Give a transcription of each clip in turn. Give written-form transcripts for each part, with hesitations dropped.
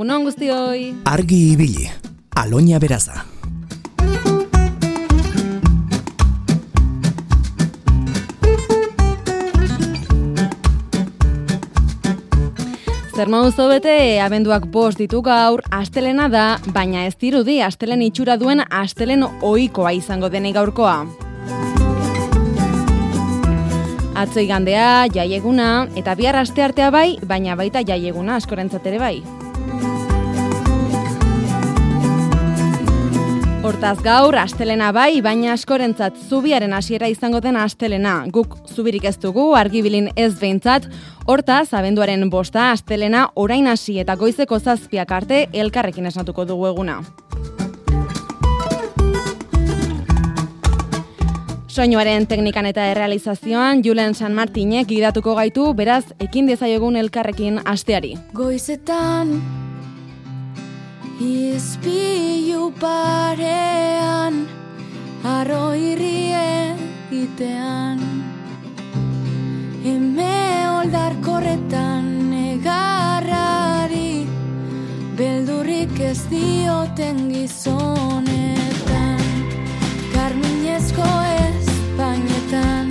Egunon guztioi. Argi ibili, Aloña Beraza. Zer moduz bete, abenduak 5 ditu gaur, astelena da, baina ez dirudi astelen itxura duen astelen ohikoa izango denik gaurkoa. Atzo igandea, jaieguna, eta bihar asteartea bai, baina baita jaieguna askorentzat ere bai. Hortaz gaur, astelena bai, baina askorentzat zubiaren hasiera izango den astelena. Guk zubirik ez dugu, argibilin ez behintzat. Hortaz, abenduaren 5 astelena orain hasi eta goizeko 7 arte elkarrekin esnatuko dugu eguna. Soinuaren teknikan eta errealizazioan Julen San Martinek gidatuko gaitu, beraz, ekin dezaiogun elkarrekin asteari. Goizetan izpilu parean, arro irrie itean, eme oldarkorretan negarrari, beldurrik ez dioten gizonetan, karminezko espainetan,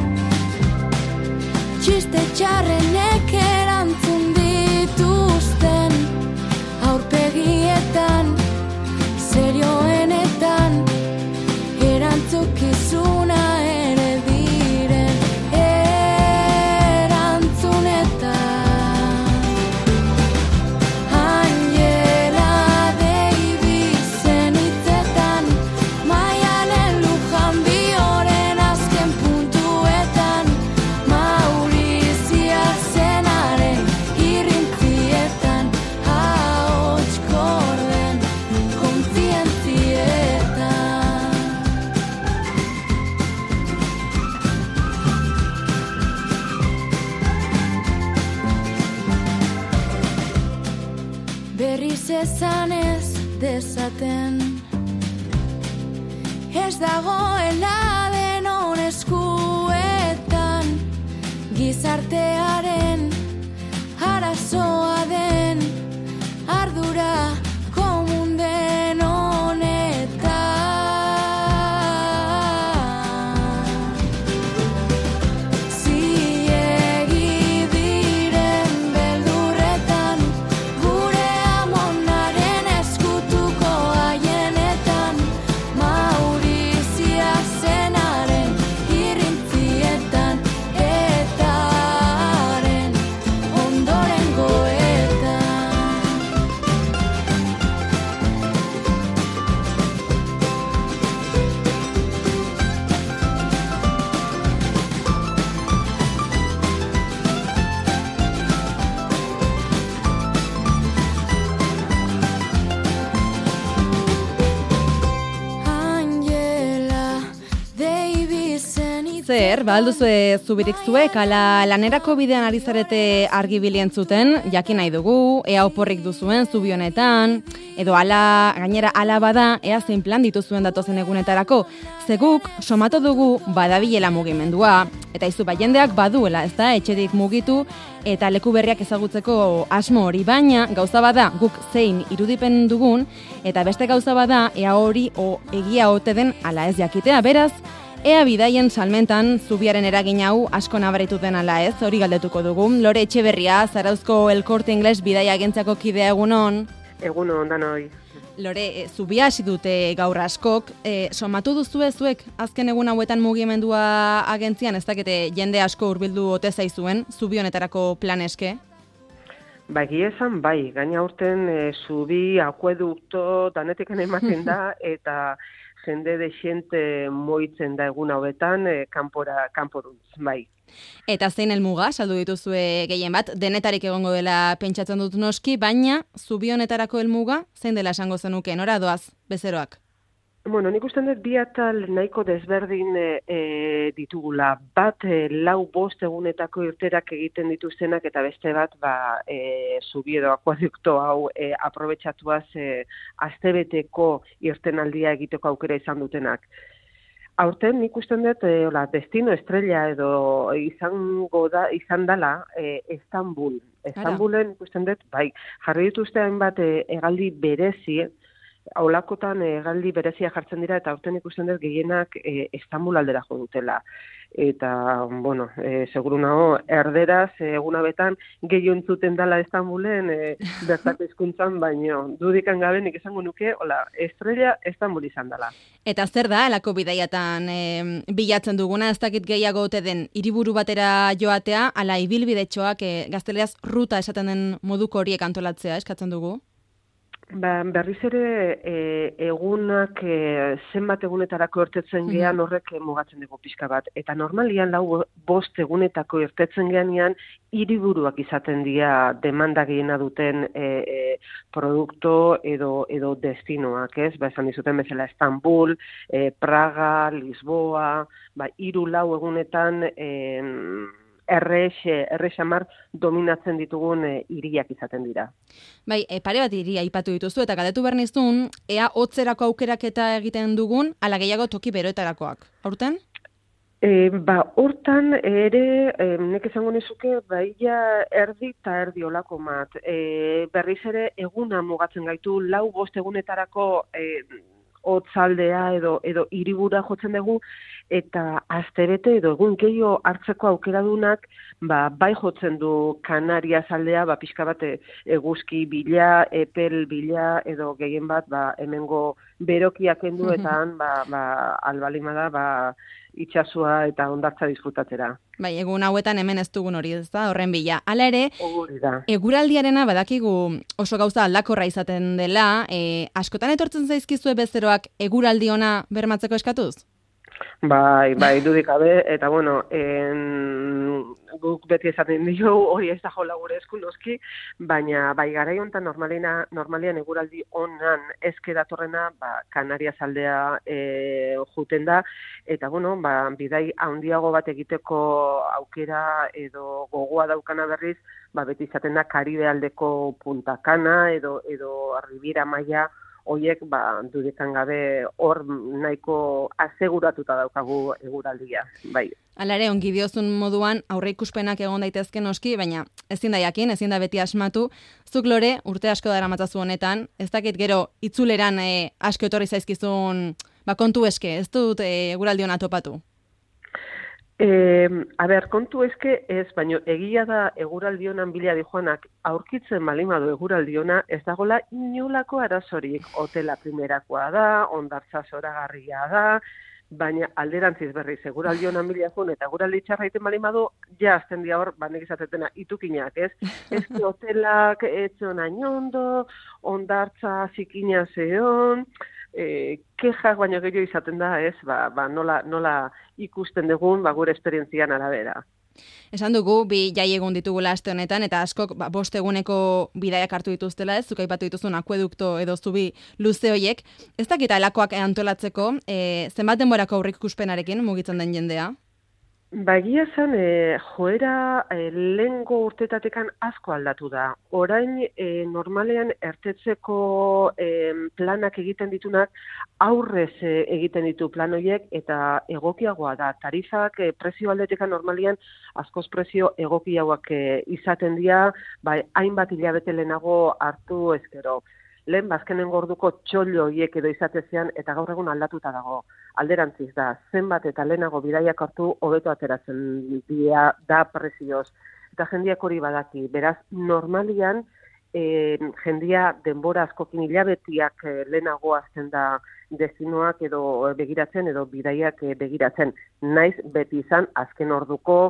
txiste txarrenek erantzun dituzten, aurpegietan, serioenetan, erantzukizuna ere diren erantzunetan. Angela Davis-en hitzetan, Maialen Lujan Bioren azken puntuetan, Maurizia Zenaren irrintzietan, ahots korden kontzientzietan. Berriz esan ez dezaten, ez dagoela denon eskuetan, gizartearen arazoa den ardura komun den honetan. Ziegi diren beldurretan, gure amonaren eskutuko haienetan, Maurizia Zenaren irrintzietan, etaren ondorengoetan. Angela Davisen Zer, alduzue zubirik zuek, ala lanerako bidean ari zarete argibilien zuten, jakin nahi dugu, ea oporrik duzuen zubi honetan, edo ala, gainera ala bada, ea zein plan dituzuen datozen egunetarako. Zeguk, somatu dugu badabilela mugimendua, eta izu jendeak baduela, ez da, etxetik mugitu, eta leku berriak ezagutzeko asmo hori, baina gauza bada guk zein irudipen dugun, eta beste gauza bada ea hori egia ote den ala ez jakitea, beraz, ea bidaien salmentan zubiaren eragin hau asko nabaritu den ala ez, hori galdetuko dugu. Lore Etxeberria, Zarauzko El Corte Inglés bidaia agentziako kidea egunon. Egunon, danoi. Lore, zubia hasi dute gaur askok, somatu duzue zuek azken egun hauetan mugimendua agentzian, ez dakite jende asko hurbildu ote zaizuen, zubi honetarako plan eske? Ba, egia esan, bai, gaina urten zubi, akuedukto, danetikan ematen da, eta jende dexente moitzen da egun hauetan, kanporuntz, bai. Eta zein helmuga, saldu dituzue gehien bat, denetarik egongo dela pentsatzen dut noski, baina zubi honetarako helmuga, zein dela esango zenuke, nora doaz, bezeroak? Bueno, nik uste dut bi atal nahiko desberdin ditugula. Bat, 4-5 egunetako irterak egiten dituztenak, eta beste bat, zubi edo akuadukto hau aprobetxatuaz astebeteko irtenaldia egiteko aukera izan dutenak. Aurten nik uste dut, destino estrella edo izan dela Istanbul. Istanbulen ikusten dut, bai, jarri dituzte hainbat hegaldi berezi, aulakotan hegaldi berezia jartzen dira, eta aurten ikusten dut gehienak Istanbul aldera jo dutela. Eta, bueno, seguru nago, erderaz, eguna betan, gehiago entzuten dela Istanbulen, bertako hizkuntzan, baino, dudikan gabe nik esango nuke, hola, estrella Istanbul izan dela. Eta zer da, elako bidaiatan bilatzen duguna, ez dakit gehiago ote den hiriburu batera joatea, ala ibilbidetxoak gazteleraz ruta esaten den moduko horiek antolatzea eskatzen dugu? Berriz ere egunak zenbat egunetarako irtetzen gean horrek mugatzen dugu pixka bat. Eta normalian 4-5 egunetako irtetzen geanean hiriburuak izaten dira demanda gehiena duten produkto edo destinoak, ez? Esan dizuten bezala Istanbul, Praga, Lisboa, 3-4 egunetan errexamar dominatzen ditugun hiriak izaten dira. Bai, pare bat hiria aipatu dituzu eta galdetu behar nizun, ea hotzerako aukeraketa egiten dugun, ala gehiago toki beroetarakoak. Aurten? Hortan ere, nek esango nizuke, ia erdi eta erdi olako mat. Berriz ere, eguna mugatzen gaitu, 4-5 egunetarako hotzaldea edo hiribura jotzen dugu, eta astebete edo egun gehiago hartzeko aukeradunak bai jotzen du Kanarias aldea, pixka bat eguzki bila, epel bila, edo gehien bat hemengo berokiak kendu eta han albalimada itxasua eta hondartza disfrutatzera. Bai, egun hauetan hemen ez dugun hori, ez da, horren bila. Hala ere, eguraldiarena badakigu oso gauza aldakorra izaten dela, askotan etortzen zaizkizue bezeroak eguraldi ona bermatzeko eskatuz? Bai, dudik gabe, eta bueno, guk beti esaten dio hori ez da jola gure esku noski, baina garai honetan normalian eguraldi onan ezke datorrena Kanarias aldea juten da, eta bueno, bidai handiago bat egiteko aukera edo gogoa daukana berriz, beti izaten da Karibe aldeko Punta Cana edo Riviera Maya, hoiek dudetan gabe hor nahiko aseguratuta daukagu eguraldia, bai. Hala ere, ongi diozun moduan aurreikuspenak egon daitezke noski, baina ezin da jakin, ezin da beti asmatu. Zuk Lore, urte asko daramatzazu honetan, ez dakit gero itzuleran asko etorri zaizkizun kontu eske, ez dut eguraldi ona topatu? Kontu eske ez, baina egia da eguraldi honan bila dijoanak aurkitzen balimadu eguraldi ona, ez dagoela inolako arazorik. Hotela primerakoa da, hondartza zoragarria da, baina alderantziz berriz eguraldi honan bila joan eta eguraldi txarra iten balimadu, ja azten dia hor, nek izatetena itukinak, ez? Ez ki hotelak etxon ainondo, hondartza zikina zeon, kexak baino gehiago izaten da, ez, nola ikusten dugun, gure esperientzian arabera. Esan dugu, bi jai egun ditugula aste honetan, eta askok 5 eguneko bidaiak hartu dituztela, ez, zuk aipatu dituzun akuedukto edo zubi luze hoiek. Ez dakita elakoak antolatzeko, zenbat denborako aurreikuspenarekin mugitzen den jendea? Egia zen, joera lehengo urtetatekan asko aldatu da. Orain, normalean ertetzeko planak egiten ditunak, aurrez egiten ditu plan horiek, eta egokiagoa da. Tarifak prezio aldetekan normalean askoz prezio egokiagoak izaten dira, hainbat hilabete lehenago hartu ezkero. Lehen bazkenengo orduko txollo horiek edo izatezean, eta gaur egun aldatuta dago. Alderantziz da, zenbat eta lehenago bidaiak hartu hobeto ateratzen da prezioz. Eta jendiak hori badaki. Beraz, normalian, jendia denbora askokin hilabetiak lehenago azten da destinoak edo begiratzen edo bidaiak begiratzen. Naiz beti izan azken orduko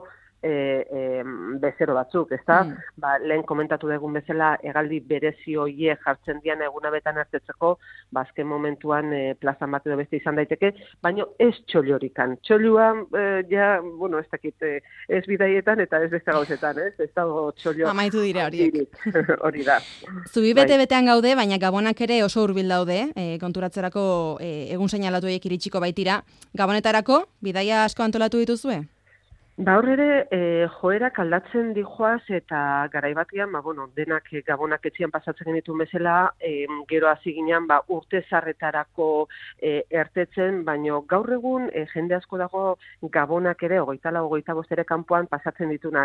bezero batzuk, ezta? Lehen komentatu dugun bezala hegaldi berezi hoiek jartzen dian eguna betan hartetzeko, azken momentuan plazan bat edo beste izan daiteke, baina ez txollorikan. Txolluan, ez dakit, ez bidaietan eta ez beste gauzetan, ez? Ez dago txollo. Amaitu dira horiek. Hori da. Zubi bete-betean gaude, baina gabonak ere oso hurbil daude, konturatzerako egun seinalatu horiek iritsiko baitira. Gabonetarako, bidaia asko antolatu dituzue? Hor ere, joerak aldatzen dijoaz eta garaibatian, denak gabonak etxian pasatzen genitu bezala, gero hasi ginean urte zarretarako ertetzen, baino gaur egun jende asko dago gabonak ere, 24-25 ere kanpoan pasatzen ditunak.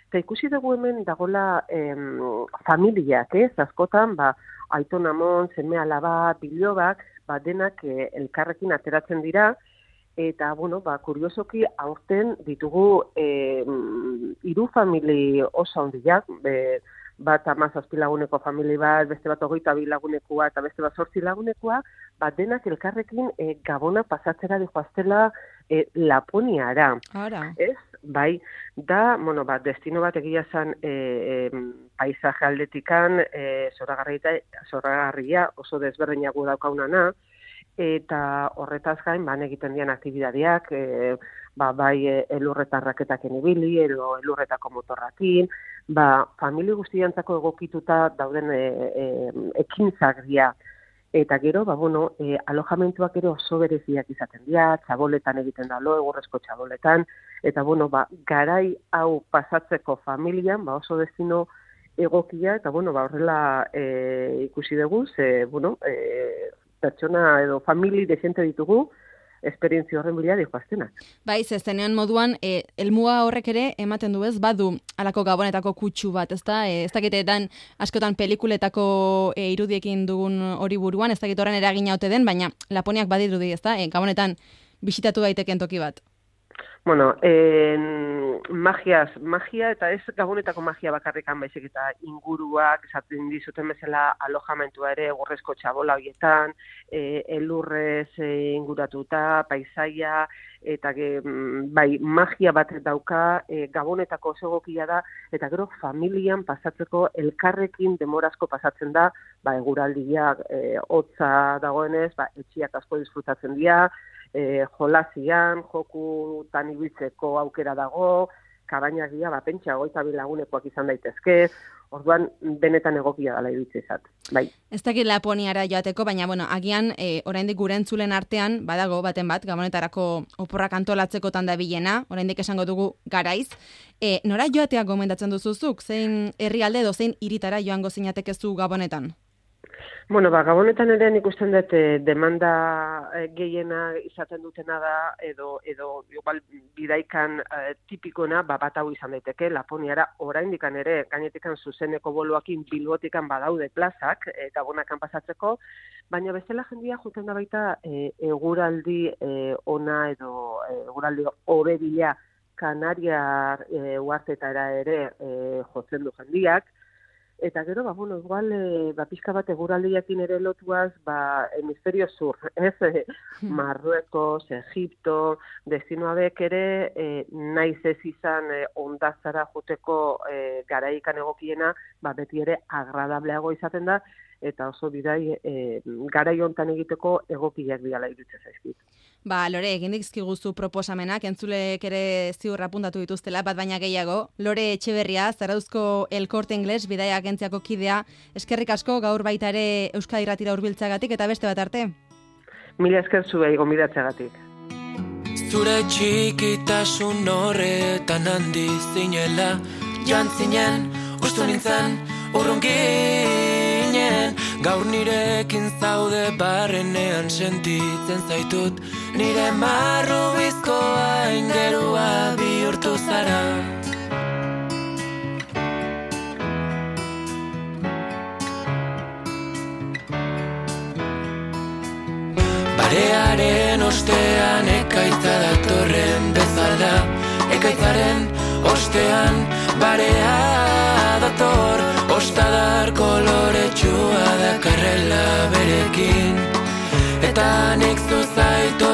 Eta ikusi dugu hemen dagola familiak, askotan, aiton amon, seme alaba, bilobak, denak elkarrekin ateratzen dira, eta, kuriosoki, aurten ditugu 3 famili oso handiak, bat 17 laguneko famili bat, beste bat 22 lagunekoa, eta beste bat 8 lagunekoa, denak elkarrekin Gabona pasatzera dijoaztela Laponiara. Ara. Ez? Bai, da, destino bat egia zan paisaje aldetikan, zoragarria oso desberdinago daukaunana, eta horretaz gain, egiten dian aktibidadeak, bai elurretarraketaken ibili, edo elurretako motorrakin, famili guztiantzako egokituta dauden ekintzak dira. Eta gero, alojamentuak ere oso bereziak izaten dira, txaboletan egiten da egurrezko txaboletan, eta garai hau pasatzeko familian, oso destino egokia, eta horrela ikusi dugu, pertsona edo famili desente ditugu, esperientzia horren bila dijoaztenak. Bai, zenean moduan, elmuga horrek ere ematen du ez, badu alako Gabonetako kutsu bat, ezta? Ez dakitetan askotan pelikuletako irudiekin dugun hori buruan, ez dakit horren eragina ote den, baina Laponiak badirudi, ezta? Gabonetan bisitatu daiteken toki bat. Magia eta ez Gabonetako magia bakarrikan baizik eta inguruak, esaten dizuten bezala alojamentua ere, egurrezko txabola horietan, elurrez inguratuta, paisaia, eta magia bat dauka, Gabonetako oso egokia da, eta gero familian pasatzeko elkarrekin demorazko pasatzen da, eguraldiak hotza dagoenez, etxiak asko disfrutatzen dira, jolasian, jokutan ibiltzeko aukera dago, kabainak dira, pentsa 22 lagunekoak izan daitezke, orduan benetan egokia dela iruditzen bai. Ez dakit Laponiara joateko, baina agian oraindik gure entzulen artean badago baten bat Gabonetarako oporrak antolatzeko tanda bilena, oraindik esango dugu Garaiz. Nora joatea gomendatzen duzuzuk? Zein herrialde edo zein hiritara joango zinatekezu Gabonetan? Gabonetan ere nik usten dut demanda gehiena izaten dutena da, edo igual bidaikan tipikona bat hau izan daiteke, Laponiara oraindikan ere, gainetikan zuzeneko boloakin Bilbotikan badaude plazak, Gabonakan pasatzeko, baina bestela jendia juten da baita eguraldi ona edo eguraldi hobebila Kanariar uhartetara ere jotzen du jendiak. Eta gero, igual, pixka bat eguraldiakin ere lotuaz, hemisferio sur, ez? Marruekos, Egipto, destino hauek ere, naiz ez izan ondazara joteko garaikan egokiena, beti ere agradableago izaten da, eta oso bidai garai hontan egiteko egokiak biala iruditzen zaizkit. Lore, egin dizkiguzu proposamenak, entzulek ere ziur apuntatu dituztela, bat baina gehiago. Lore Etxeberria, Zarauzko El Corte Inglés, bidaia agentziako kidea, eskerrik asko gaur baita ere Euskadi Irratira hurbiltzeagatik eta beste bat arte. Mila esker zuei gonbidatzeagatik. Zure txikitasun horretan handi zinela, jantzinen, ustu nintzen, urrunginen, gaur nirekin zaude barrenean sentitzen zaitut, nire marru bizkoa ingerua bihurtu zara. Barearen ostean ekaitza datorren bezala, ekaitzaren ostean barea dator, ostadar koloretsua dakarrela berekin, eta nik zuzaitu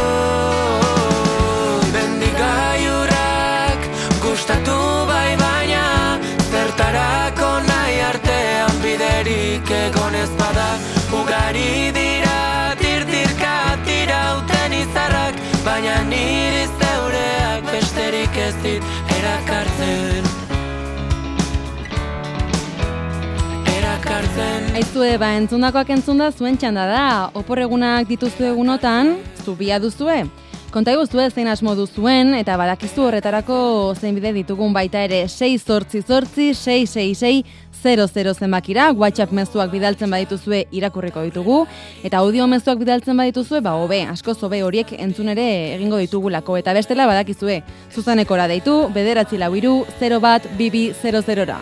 bendigaiurak gustatu bai baina, zertarako nahi artean biderik egon ez bada, ugari dira tirtirka tirauten izarrak, baina niri zeureak besterik ez dit erakartzen. Aizue, entzundakoak entzunda zuen txanda da, opor egunak dituzu egunotan, zubia duzue. Konta iguztu zein asmo duzuen, eta badakizu horretarako zein bide ditugun baita ere 688-666-00 zenbakira, WhatsApp mezuak bidaltzen badituzue irakurriko ditugu, eta audio mezuak bidaltzen badituzue, hobe, askoz hobe horiek entzun ere egingo ditugulako, eta bestela badakizue, zuzenekora deitu, 943-01-2200ra.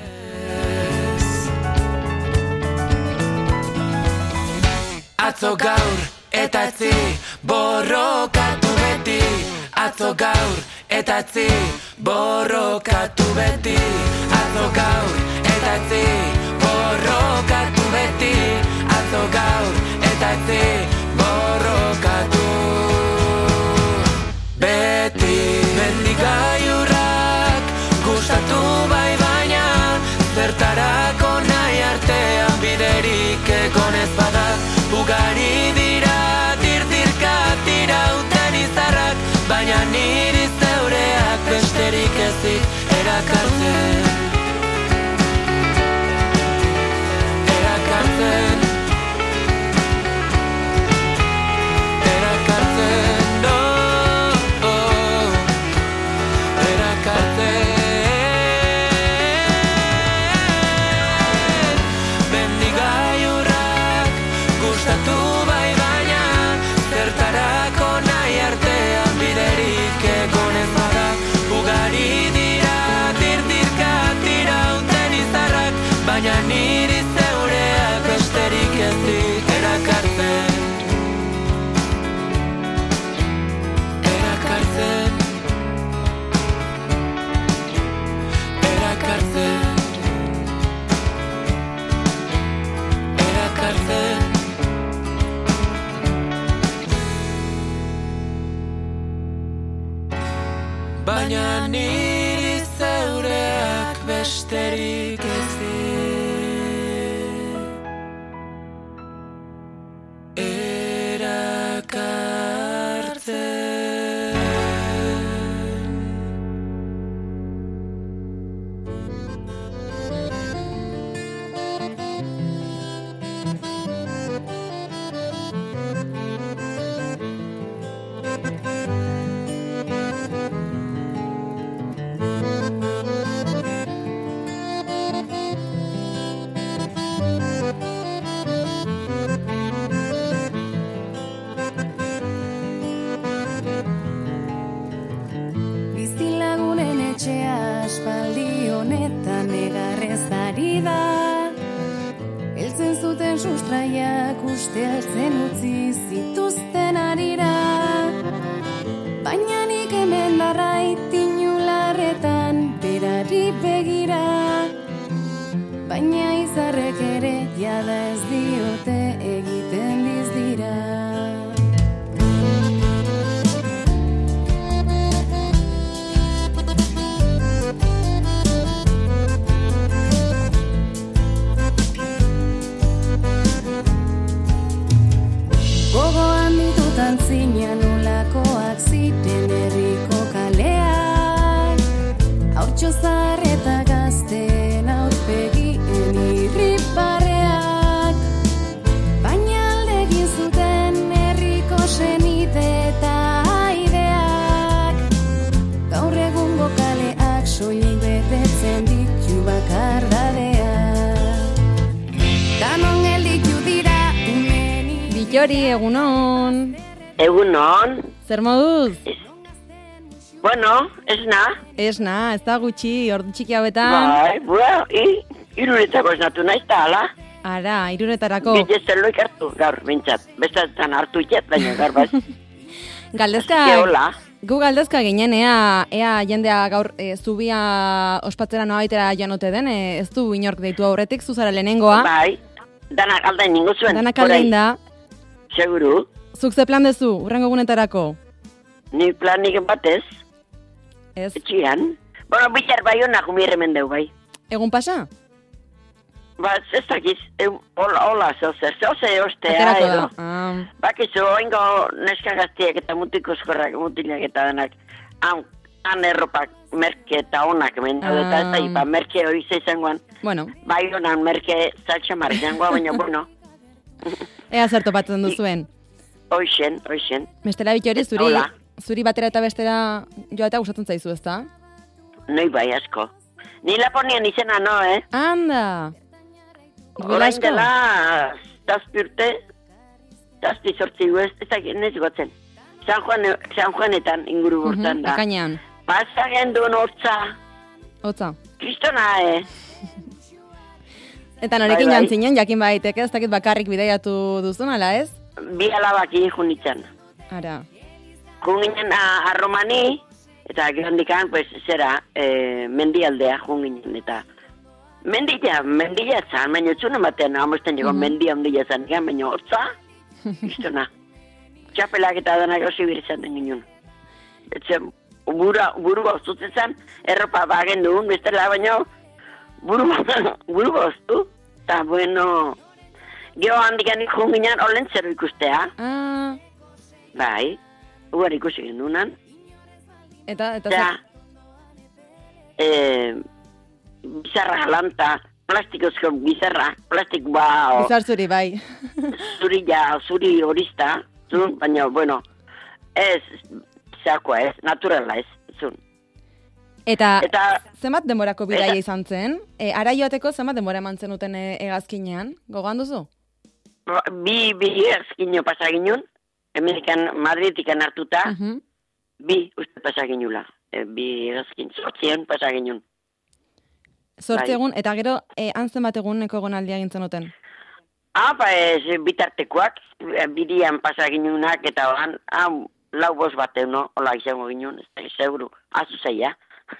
Atzo gaur eta etzi borrokatu beti. Atzo gaur eta etzi borrokatu beti. Atzo gaur eta etzi borrokatu beti. Atzo gaur eta etzi borrokatu beti. Mendigaiurrak gustatu bai baina zertarako nahi artean biderik egon ez bada. Ugari dira, tirtirka tirauten izarrak, baina niri zeureak besterik ezik erakartzen. Erakartzen. Erakartzen, no, erakartzen. Bendigaiurrak gustatu bai baina zertarako nahi artean biderik egon ez bada. Ugari dira, tirtirka tirauten izarrak, baina niri zeureak besterik ezik erakartzen. Erakartzen. Erakartzen. Erakartzen. Baina niri zeureak besterik ezik erakartzen. Bizilagunen etxea aspaldi honetan negarrez ari da. Heltzen zuten sustraiak uste altzen utzi zituzten arira. Baina nik hemen darrait inularretan berari begira. Baina izarrek ere jada ez diote egiten dizdira. Gogoan ditutan zinean nolakoak ziren herriko kaleak. Haurtxo zahar eta gazten aurpegien irribarreak. Baina aldegin zuten herriko senide eta aideak. Gaur egungo kaleak soilik betetzen ditu bakardadeak. Danon gelditu dira Bitxori, egunon. Egunon. Zer moduz? Bueno, esna. Esna, ez da gutxi, ordu txiki hauetan. Bai, iruretako esnatu naiz da, ala? Ara, iruretarako. Bilezen loik hartu, gaur, bintzat. Bestetan hartu iket, baina gaur baz. Galdezka, Eola. gu galdezka ginen, ea jendea gaur zubia ospatzera noaitera joanote den, ez du inork deitu aurretik, zuzara lehenengoa. Bai, danak aldain ningu zuen. Danak aldain da. Seguru. Zuk ze plan dezu, urrengo egunetarako? Ni planik batez, Ez, etxian. Bueno, bitar bai honak umirremen deu, bai. egun pasa? Ba, ez dakiz, hola, zozer ostea, Aterako edo. da. Bakizu, oingo neska gaztiak eta mutikozkorrak, mutilak eta denak, han erropak merke eta onak menda, eta ipa merke hori izangoan, Bueno, bai honan merke zaltxamar izangoa, baina bueno, ea zer topatzen duzuen. hoixen. Bestela Bitxori, zuri Hola. zuri batera eta bestera joatea gustatzen zaizu, ezta? Noi bai asko. Ni Laponian izena no, Anda! Duela Orain asko? dela, zazpi sortzi ez dakit nez gotzen. San Juanetan inguru bortan da. Ekainean. Pasa gendun hortza, Hotza. kristona, Eta norekin Bai, bai. jantzinen, jakin baiteke, ez dakit bakarrik bidaiatu duzun, ala ez? Bi alabaki junitzen. Ara. Junginen a Romani, eta gerondikan, pues, zera, mendialdea junginen, eta mendia zan, baina txuna batean, amosten jego mendia ondia zan, baina hortza, kristona. Txapelak eta denak osi birizan den ginen. Etzen, buru boztutzen zen, erropa bagen duen, bestela baina, buru boztu, eta bueno, geho handikan ikun ginen, olen zero ikustea, Ah, bai, ugar ikusi gendunan, eta eta, bizarra jalanta, plastikozko bizarra, plastik bizar zuri, bai. zuri horista, zun, baina, bueno, ez, zeakoa ez, naturala ez, zun. Eta Eta, zenbat denborako bidaia eta- izan zen? Ara joateko zenbat denbora eman zenuten hegazkinean? Gogoan duzu? bi ezkino pasaginun, Amerikan Madridikan hartuta, Mhm. bi uste pasaginula, bi ezkin, sortzion pasaginun. Zortzi Bai. egun, eta gero, han zenbat eguneko egonaldia egin zenuten? Bitartekoak, bidian pasaginunak, eta oran, lau bost bateu, no? Ola izango ginen, ez da, seguru, azu zeia.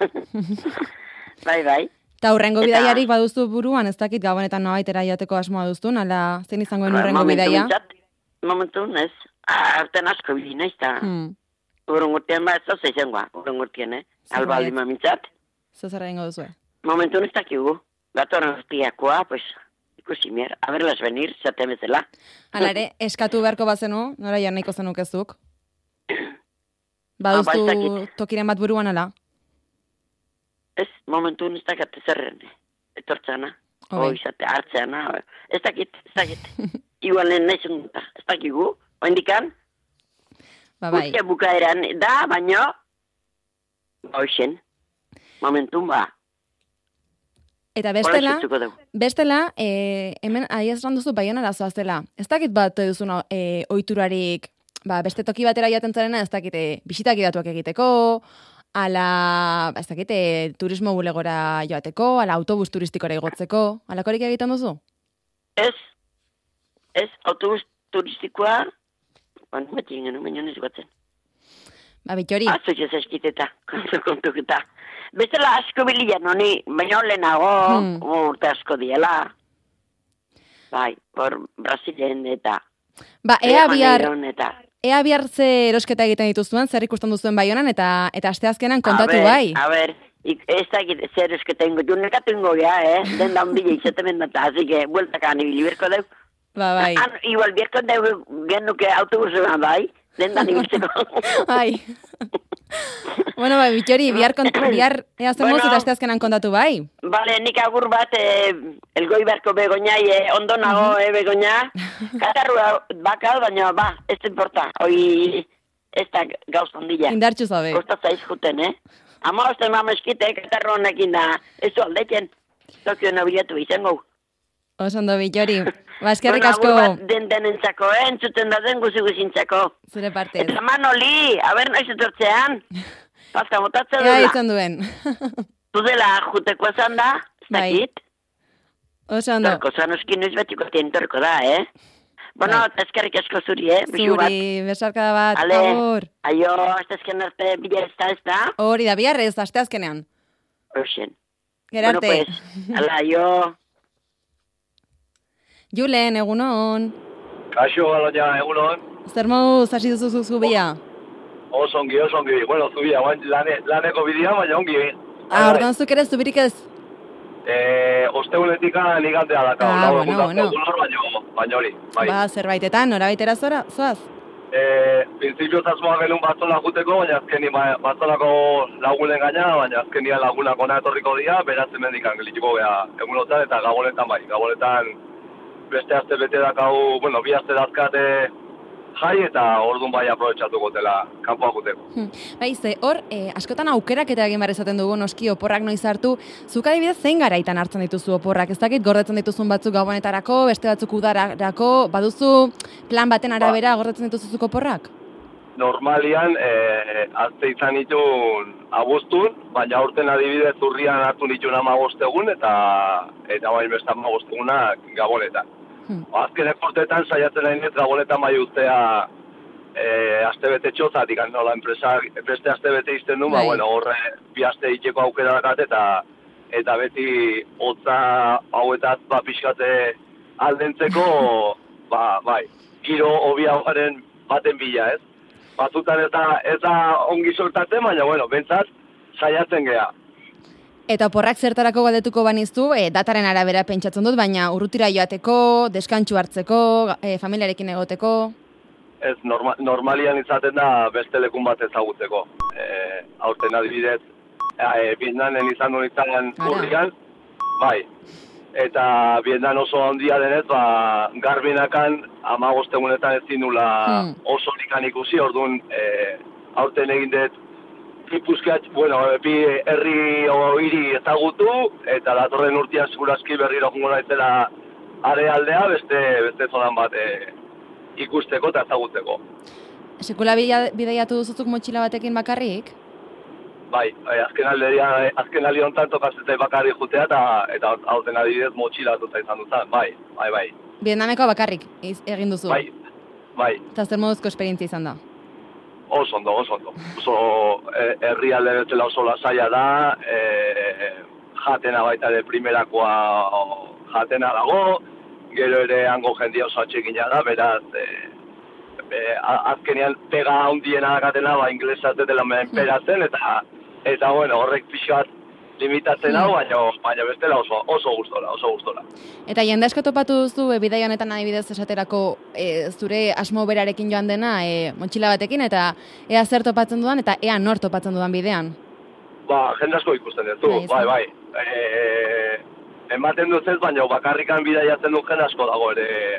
Bai. Eta hurrengo Eta- bidaiarik baduzu buruan, ez dakit gabonetan nobaitera joateko asmoa duztun, ala zein izangoen hurrengo bidaia? Momentu, ez? Arten asko bili, naiz, eta urrungurtean ez da izangoa, urrungurtean, Albaldi mamintzat. Zer egingo duzu? Momentu ez dakigu. Gatorren urtiakoa, pues, ikusi mier, a verlas venir, zaten bezala. Hala ere, eskatu beharko bazenu, nora joan nahiko zenukezuk? ba, ez Baduzu dakit. tokiren bat buruan ala? Ez, momentu ez dakat zerren, etortzana, Obe. izate, hartzeana, ez dakit. Igualen nahi zenguta, ez dakigu, oindikan, Ba, bai. urtia bukaeran da, baino, hoxen, momentun ba, Eta hola zutzuko dugu. bestela, hemen aiezran duzu Baionara zoaztela. Ez dakit bat duzun ohiturarik, beste toki batera joaten zarena, ez dakit bisitak idatuak egiteko, ala, ez dakit, turismo bulegora joateko, ala autobus turistikora igotzeko, alakorik egiten duzu? Ez, autobus turistikoa, beti ingenu, baino ez gotzen. Ba, Bitxori, Azoiz eskiteta, kontuketa. Bestela asko bilian, honi, baina lehenago, urte asko diela. Bai, hor Brasilen eta... ba, ea bihar Maneiron eta... ze erosketa egiten dituzuen, zer ikusten duzuen Baionan, eta asteazkenan kontatu bai. A ber, ez da zer esketa ingo, jo nekatu ingo gea, den da ondile izatemen da, así que, bueltakan ibili berko deu. Ba, bai. Igual berko deu genuke autobusean bai, den da nibiltzeko. Bai. Bueno, bai, Bitxori, bihar ea zemoz Bueno. eta asteazkenan kontatu bai. Vale, nik agur bat, elgoi beharko begoñai, ondo nago, begoña. Katarrua bakal, baina, ez importa. Hoi, ez da gauz ondila. Indartxu zabe. Kostatza izkuten, Ama osten mameskite, katarro honekin da, ez du aldeken. Tokio nabilatu izango. Oso ondo, Bitxori. Ba, eskerrik Bueno, asko agur bat denentzako, entzuten da den guzi-guzintzako. zure partez. Eta Manoli, aber noiz etortzean. Pazka motatzen Ea dela. ditzen duen. Zudela juteko esan da, ez Bai. dakit. Oso ondo. Torko, zanoskin noiz betiko tientorko da, Bueno, Bai. eskerrik asko zuri, bisu bat. Zuri, besarkada bat, Ale, agur. aio, aztezken arte, bila ez da? Hori da, biharrez, asteazkenean. Oxen. Gerarte. Bueno, pues, ala, aio. Julen, egunon. Kaixo, Aloña, egunon. Zer moduz hasi duzu zubia? Oso ongi. Bueno, zubia, laneko bidea, baina ongi. Orduan zuk ere zubirik ez? Osteunetika ligantea daka. Ah, bueno. Baina hori, bai. Ba, zerbaitetan, norabaitera zoaz? Printzipio zasmoa genuen batzola juteko, baina azkeni batzolako lagunen gaina, baina azkeni lagunak ona etorriko dira, beratzen mendikan gelitiko beha egunotan eta gabonetan bai. Gabonetan beste aste bete dakau, bueno, bi aste dazkate jai eta orduan bai aprobetxatuko dela kanpoa guteko. Bai, hor, askotan aukerak eta egin behar izaten dugu noski oporrak noiz hartu. Zuk adibidez zein garaitan hartzen dituzu oporrak? Ez dakit gordetzen dituzun batzuk gabonetarako, beste batzuk udararako, baduzu plan baten arabera gordetzen dituzuzuk oporrak? Normalian, azte izan ditun abuztun, baina aurten adibidez urrian hartu ditun 15 egun eta bain beste 15 egunak gabonetan. Azkenek urteetan saiatzen nahi gabonetan bai ustea astebete txozatik, nola enpresa beste astebete izten du, bueno, horre bi aste itxeko aukera dakat eta beti hotza hauetaz pixkate aldentzeko, bai, giro hobiagaren baten bila, ez? Batzutan ez da ongi sortatzen, baina, bueno, bentsat, saiatzen gea. Eta oporrak zertarako galdetuko baniztu, dataren arabera pentsatzen dut, baina urrutira joateko, deskantsu hartzeko, familiarekin egoteko? Ez, normalian izaten da beste lekun bat ezagutzeko. Aurten adibidez, Vietnamen izan duen izan urrian, bai. Eta Vietnam oso handia denez, garbinakan 15 egunetan ezin nula oso likan ikusi, orduan aurten egin dut ipuzkeat, bueno, bi herri o hiri ezagutu, eta datorren urtean segurazki berriro jungo naizela arealdea, beste zonan bat ikusteko eta ezagutzeko. Sekula bidaiatu duzuzuk motxila batekin bakarrik? Bai, azken aldi honetan tokazetai bakarri jutea eta aurten adibidez motxilatuta izan duzan, bai. Vietnameko bakarrik egin duzu? Bai. Eta zer moduzko esperientzia izan da? Oso ondo. Oso herrialde betela oso lasaia da, jatena baita de primerakoa jatena dago, gero ere hango jendia oso atxekina da, beraz, azkenean pega handiena dakatena, inglesaz dela menperatzen, eta bueno, horrek pixat limitatzen hau, baina bestela oso gustola. Eta jende asko topatu duzu, bidai honetan adibidez esaterako zure asmo berarekin joan dena, motxila batekin, eta ea zer topatzen dudan, eta ea nor topatzen dudan bidean? Jende asko ikusten duzu, bai. Ematen dut ez, baina bakarrikan bidaiatzen du jende asko dago ere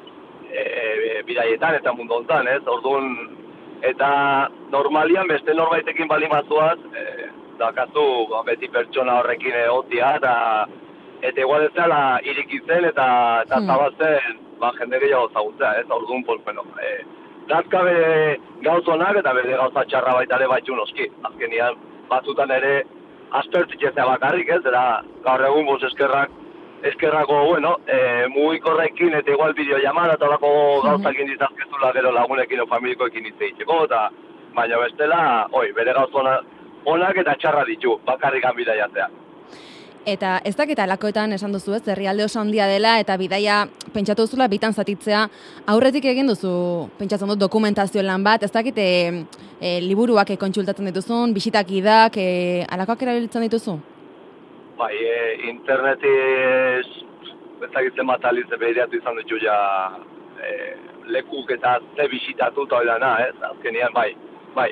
bidaietan eta mundu hontan, ez? Orduan, eta normalian beste norbaitekin bali mazuaz, dakazu beti pertsona horrekin egotia, eta igual ez dela irikitzen eta zabaltzen jende gehiago zagutzea, ez? Orduan, bueno, dazka bere gauzonak eta bere gauza txarra baita ere baitxun oski. Azkenian, batzutan ere aspertzik ezea bakarrik, ez? Eta gaur egun eskerrako, bueno, mugikorrekin eta igual bideollamada eta olako gauzakin ditazkezula gero lagunekin o familikoekin izteitzeko, eta baina bestela, bere gauzona onak eta txarra ditu, bakarrikan bidaiatzea. Eta ez dakit alakoetan esan duzu ez, herrialde oso handia dela eta bidaia pentsatu duzula bitan zatitzea, aurretik egin duzu, pentsatzen dut dokumentazio lan bat, ez dakit liburuak kontsultatzen dituzun, bisitak idak, alakoak erabiltzen dituzu? Bai, internetiz, ez dakitzen bat alizte behiratu izan ditu ja lekuk eta ze bisitatu eta oidana, ez? Azkenian, bai.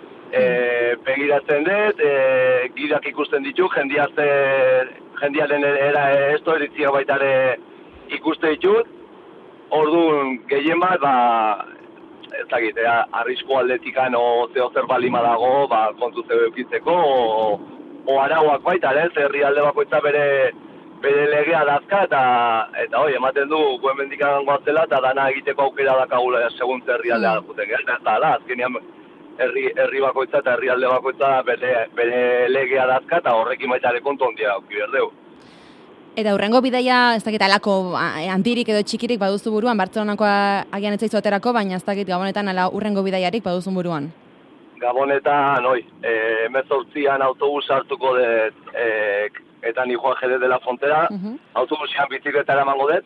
Begiratzen dut, gidak ikusten ditu, jendiaren esto eritzia baita ere ikuste ditut, orduan gehien bat, ez dakit, arrisko aldetikan o zer balima dago, kontu zeu eukitzeko, o arauak baita, ez, herrialde bakoitza bere legea dazka, eta ematen du, guen mendikan goazela, eta dana egiteko aukera dakagula segun herrialdea dakuten, ez da, azkenean herri bakoitza eta herrialde bakoitza bere legea dazka, eta horrekin baita ere kontu handia auki berdeu. Eta hurrengo bidaia, ez dakit alako handirik edo txikirik baduzu buruan, Bartzelonakoa agian ez zaizu aterako, baina ez dakit Gabonetan ala hurrengo bidaiarik baduzun buruan. Gabonetan, 18an autobus hartuko dut, eta ni Juan Jerez de la Frontera, autobusian bizikletara emango dut,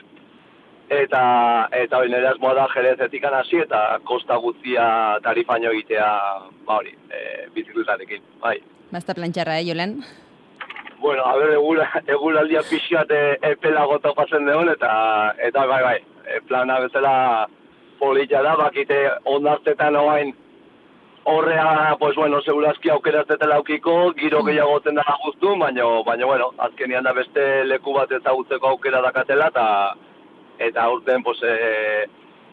eta nire asmoa da Jerezetik hasi eta kosta guztia tarifaino egitea, bizikletarekin, bai. Basta plantxarra, Jolen? Bueno, eguraldia pixkat epelago topatzen deon, eta bai, plana bezala polita da, bakite ondartetan oain horrea, pues bueno, segurazki aukeraztetela aukiko, giro gehiago zen dara guztu, baina, bueno, azkenian da beste leku bat ezagutzeko aukera dakatela, eta aurten, pues,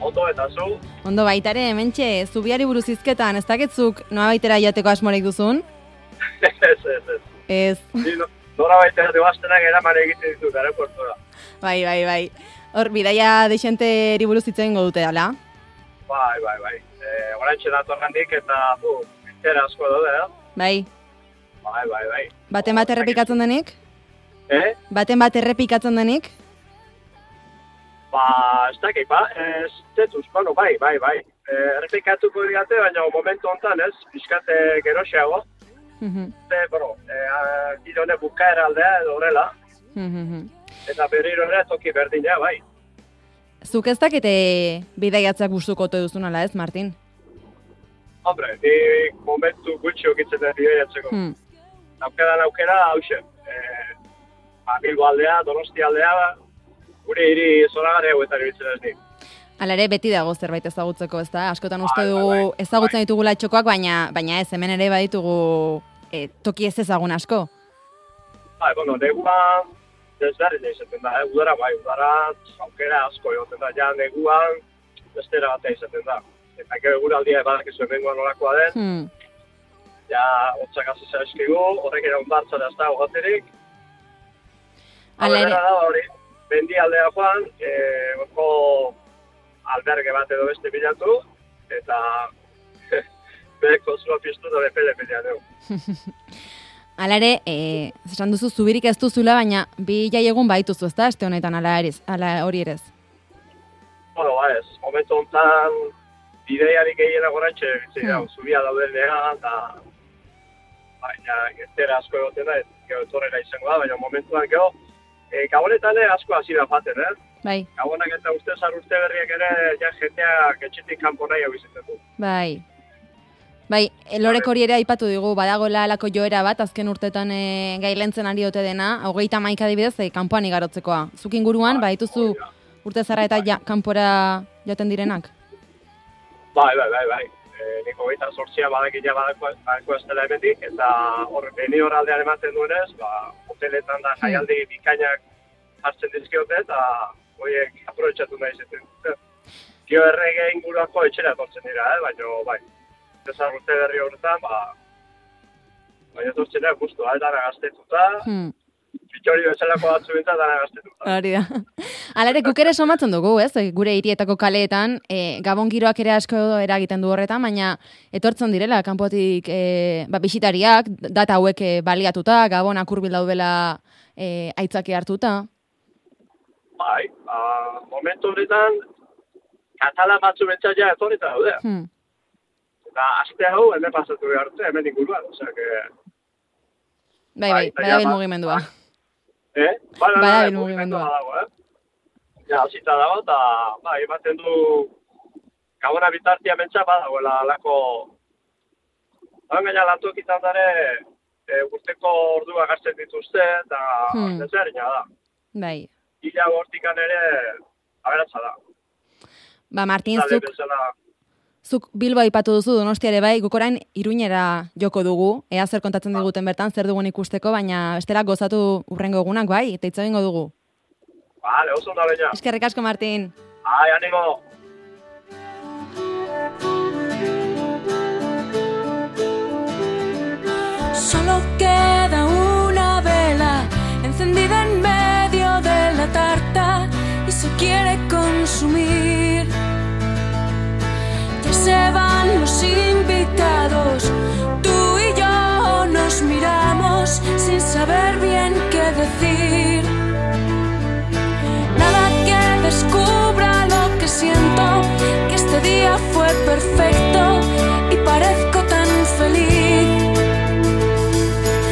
Ondo eta zu? Ondo baitare, hementxe, zubiari buruz hizketan, ez dakitzuk noa baitera jateko asmorik duzun? Ez. Nora baitera debaztenak eraman egiten ditut, aeroportura. Bai. Hor, bidaia deixenteri buruz hitzen dute, ala? Bai. Horantxe datorrendik eta, bitera asko daude, Bai. Bai. Baten bat errepikatzen denik? Baten bat errepikatzen denik? Ez dakik, ez tetuz, bai. Errepikatuko digate, baina momentu honetan ez, pixkate geroxeago. Gidone bukaera aldea edo horrela. Eta berriro ere toki berdina, bai. Zuk ez dakite bidaiatzak gustuko ote duzun ala ez, Martin? Hombre, ni momentu gutxi okitzen den bidaiatzeko. Aukeran aukera, hauxe. Bilbo aldea, Donosti aldea, gure hiri zoragarri hauetan ibiltzen ez nik. Hala ere, beti dago zerbait ezagutzeko, ez da? Askotan uste dugu ezagutzen ditugula txokoak, baina ez, hemen ere baditugu toki ez ezagun asko. Neguan desberdin izaten da, udara aukera asko egoten da, ja neguan bestera batea izaten da. Eta gero eguraldia badakizu hemengoan nolakoa den, ja hotzak hasi zaizkigu, horrek ere ondartzara ez da ogaterik. Hala ere da hori, mendi aldea joan, orko alberge bat edo beste bilatu, eta bereko zua piztu da bepele dugu. Hala ere, esan duzu zubirik ez duzula, baina bi jaiegun baituzu, ez da, este honetan, ala hori erez? Ez, momentu honetan bideiarik egin agorantxe, zubia daudenean, eta baina gertera asko egoten da, gero etorrera izango da, baina momentuan gero, gabonetan asko hasi da faten, Bai. Gabonak eta urte berriak ere, ja jendeak etxetik kanpo nahi hau izaten du. Bai, Lorek hori ere aipatu digu, badagoela alako joera bat, azken urtetan gailentzen ari ote dena, 31 adibidez, kanpoan igarotzekoa. Zuk inguruan, baituzu urte zarra eta kanpora joten direnak? Bai. Niko 28 badakila badako ez dela hemendik, eta beni horraldean ematen duenez, hoteletan da jaialdi bikainak hartzen dizkiote, eta horiek aprobetxatu nahi zeten. Gio errege inguruako etxera etortzen dira, baina bai. Ezar urte berri horretan, baina etortzen dira guztu, dara gaztetuta, bitxori bezalako batzu bintzen dara gaztetuta. Hori da. Hala ere, guk ere somatzen dugu, ez? Gure hirietako kaleetan, gabon giroak ere asko eragiten du horretan, baina etortzen direla, kanpotik bisitariak, data hauek baliatuta, gabonak hurbil daudela aitzaki hartuta. Bai, momentu horretan, katalan batzu bentsaia etorrita daude. Eta aste hau, hemen pasatu behar dute, hemen inguruan, osea, Bai, badabil mugimendua. Badabil mugimendua dago, Ja, hasita dago, eta ematen du gabona bitartia mentza badagoela alako gaina lantokitan dare urteko ordua gartzen dituzte, eta desberdina da. Bai. Ila hortikan ere aberatza da. Martin, zuk Bilbo aipatu duzu Donostiare bai, guk orain Iruñera joko dugu, ea zer kontatzen diguten bertan, zer dugun ikusteko, baina bestela gozatu urrengo egunak bai, eta hitz egingo dugu. Vale, oso da leña. Eskerrik asko, Martin. Ánimo. Solo queda una vela encendida en medio de la tarta y se quiere consumir. Ya se van los invitados, tú y yo nos miramos sin saber bien qué decir. Nada que descubra lo que siento, que este día fue perfecto y parezco tan feliz.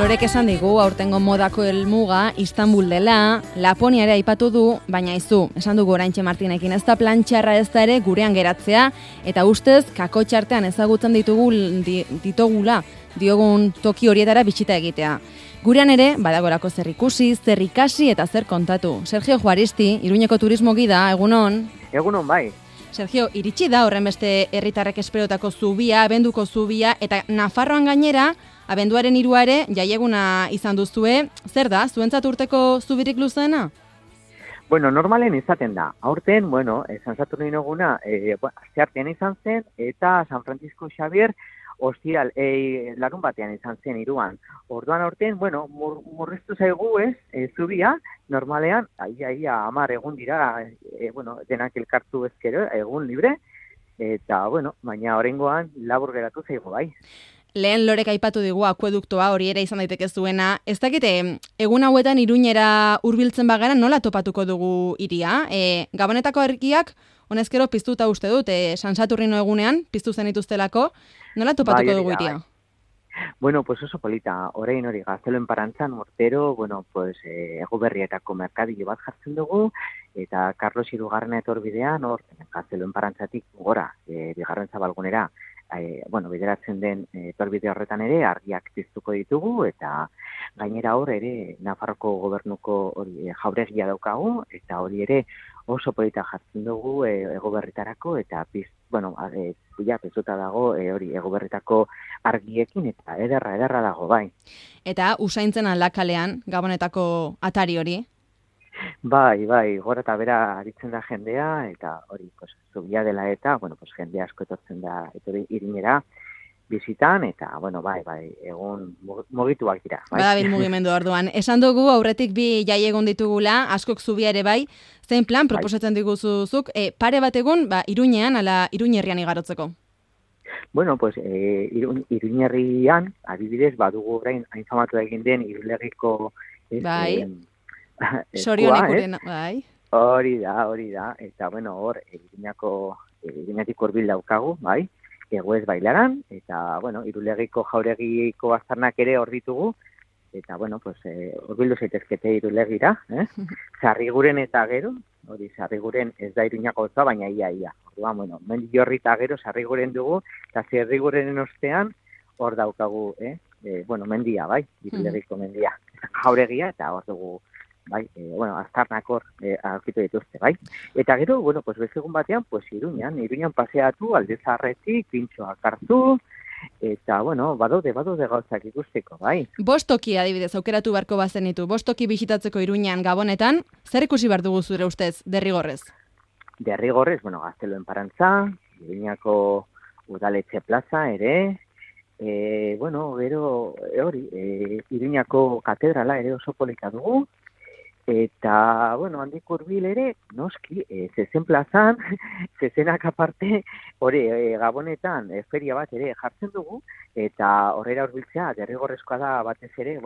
Lorek esan digu aurtengo modako helmuga Istanbul dela, Laponia ere aipatu du, baina izu, esan dugu oraintxe Martinekin, ez da plan txarra ez da ere gurean geratzea, eta ustez kakotxartean ezagutzen ditugula diogun toki horietara bitxita egitea. Gurean ere, badagorako zer ikusi, zer ikasi eta zer kontatu. Sergio Juaristi, Iruñeko turismo gida, egunon? Egunon bai. Sergio, iritsi da horren beste herritarrek esperotako zubia, abenduko zubia, eta Nafarroan gainera, abenduaren 3 ere, jaieguna izan duzue. Zer da, zuentzat urteko zubirik luzeena? Bueno, normalen izaten da. Aurten, San Saturnino eguna, asteartean izan zen, eta San Francisco Xavier, ostiral, larun batean izan zen 3an. Orduan aurten, murriztu zaigu zubia, normalean, 10 egun dira, denak elkartu ezkero, egun libre, eta, baina oraingoan labur geratu zaigu bai. Lehen Lorek aipatu digu akueduktoa hori ere izan daiteke zuena. Ez dakite, egun hauetan Iruñera hurbiltzen bagara nola topatuko dugu hiria? Gabonetako argiak, honezkero piztuta uste dut, San Saturnino egunean, piztu zen ituztelako, nola topatuko dugu hiria? Bueno, pues oso polita, orain hori Gazteloen Parantzan urtero, Eguberrietako merkadillo bat jartzen dugu, eta Carlos Hirugarrena etorbidean, Gazteloen Parantzatik gora, bigarren zabalgunera, bideratzen den etorbide horretan ere argiak piztuko ditugu, eta gainera hor ere Nafarroko gobernuko jauregia daukagu, eta hori ere oso polita jartzen dugu Eguberritarako, eta piztuta dago hori Eguberritako argiekin, eta ederra dago bai. Eta usaintzen aldakalean Gabonetako atari hori? Bai, gora eta bera aritzen da jendea, eta hori, zubia dela eta, jende asko etortzen da Iruñera bizitan, eta, egun mugituak dira. Bai? Badabil mugimendu orduan. Esan dugu aurretik bi jaiegun ditugula, askok zubia ere bai, zein plan proposatzen diguzuzuk, pare bat egun, Iruñean, ala Iruñerrian igarotzeko? Iruñerrian, adibidez, badugu orain hain famatu egin den Irulegiko Sorionekuren, bai. Hori da, eta hor, Iruñatik hurbil daukagu, bai, Eguez Bailaran, eta, Irulegiko jauregiko aztarnak ere hor ditugu, eta, hurbildu zaitezkete Irulegira, Sarriguren eta gero, hori, Sarriguren ez da Iruñako gozoa, baina ia. Orduan, Mendillorri eta gero Sarriguren dugu, eta Sarrigurenen ostean hor daukagu, mendia, bai, Irulegiko mendia, jauregia, eta hor dugu, aztarnak hor aurkitu dituzte, bai. Eta gero, bezegun batean, Iruñan paseatu, Aldezarretik, pintxoak hartu, eta, badaude gauzak ikusteko, bai. Bostoki adibidez, aukeratu beharko bazenitu, bostoki bisitatzeko Iruñan Gabonetan, zer ikusi behar dugu zure ustez, derrigorrez? Derrigorrez, Gazteloen Parantza, Iruñako udaletxe plaza ere, gero, hori, Iruñako katedrala ere oso polita dugu, eta, handik hurbil ere, noski, zezen plazan, zezenak aparte, hori, Gabonetan, feria bat ere jartzen dugu, eta horrela hurbiltzea, derrigorrezkoa da batez ere,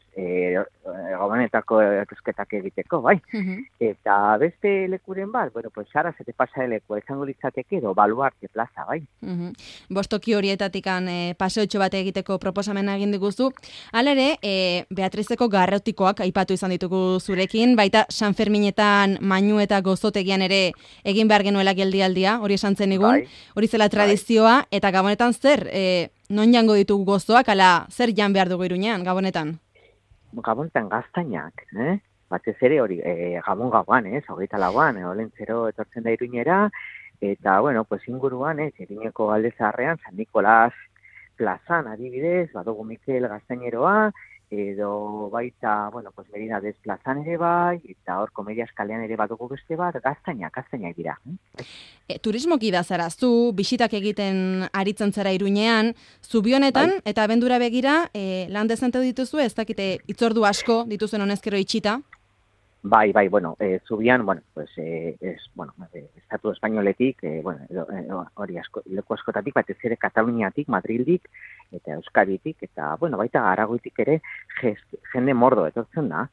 Gabonetako etusketak egiteko, bai. Eta beste lekuren bat, Sara zete pasa lekua izango litzateke edo Baluarte plaza, bai. Bostoki horietatikan paseotxo bat egiteko proposamena egin diguzu. Hala ere, Beatrizeko garrotikoak aipatu izan ditugu zurekin, baita San Ferminetan mainu eta gozotegian ere egin behar genuela geldialdia, hori esan zen igun, hori zela tradizioa, eta Gabonetan zer, non jango ditugu gozoak, ala zer jan behar dugu Iruñean, Gabonetan? Gabonetan gaztainak, batez ere hori, Gabon gauan, 24an, olentzero etortzen da Iruñera, eta, inguruan, Iruñeko Aldezarrean, San Nikolas plazan adibidez, badugu Mikel Gaztaineroa, edo baita, Meridades plazan ere bai, eta hor Komedia eskalean ere badugu beste bat, gaztainak dira. Turismoki da zara, zu bisitak egiten aritzen zara Iruñean, zubionetan eta abendura begira, lan dezente dituzu, ez dakite itzordu asko dituzen honezkero itxita? Bai, zubian, estatu espainoletik, hori leku askotatik, batez ere Kataluniatik, Madrildik, eta Euskaditik, eta, baita Aragoitik ere jende mordo etortzen da.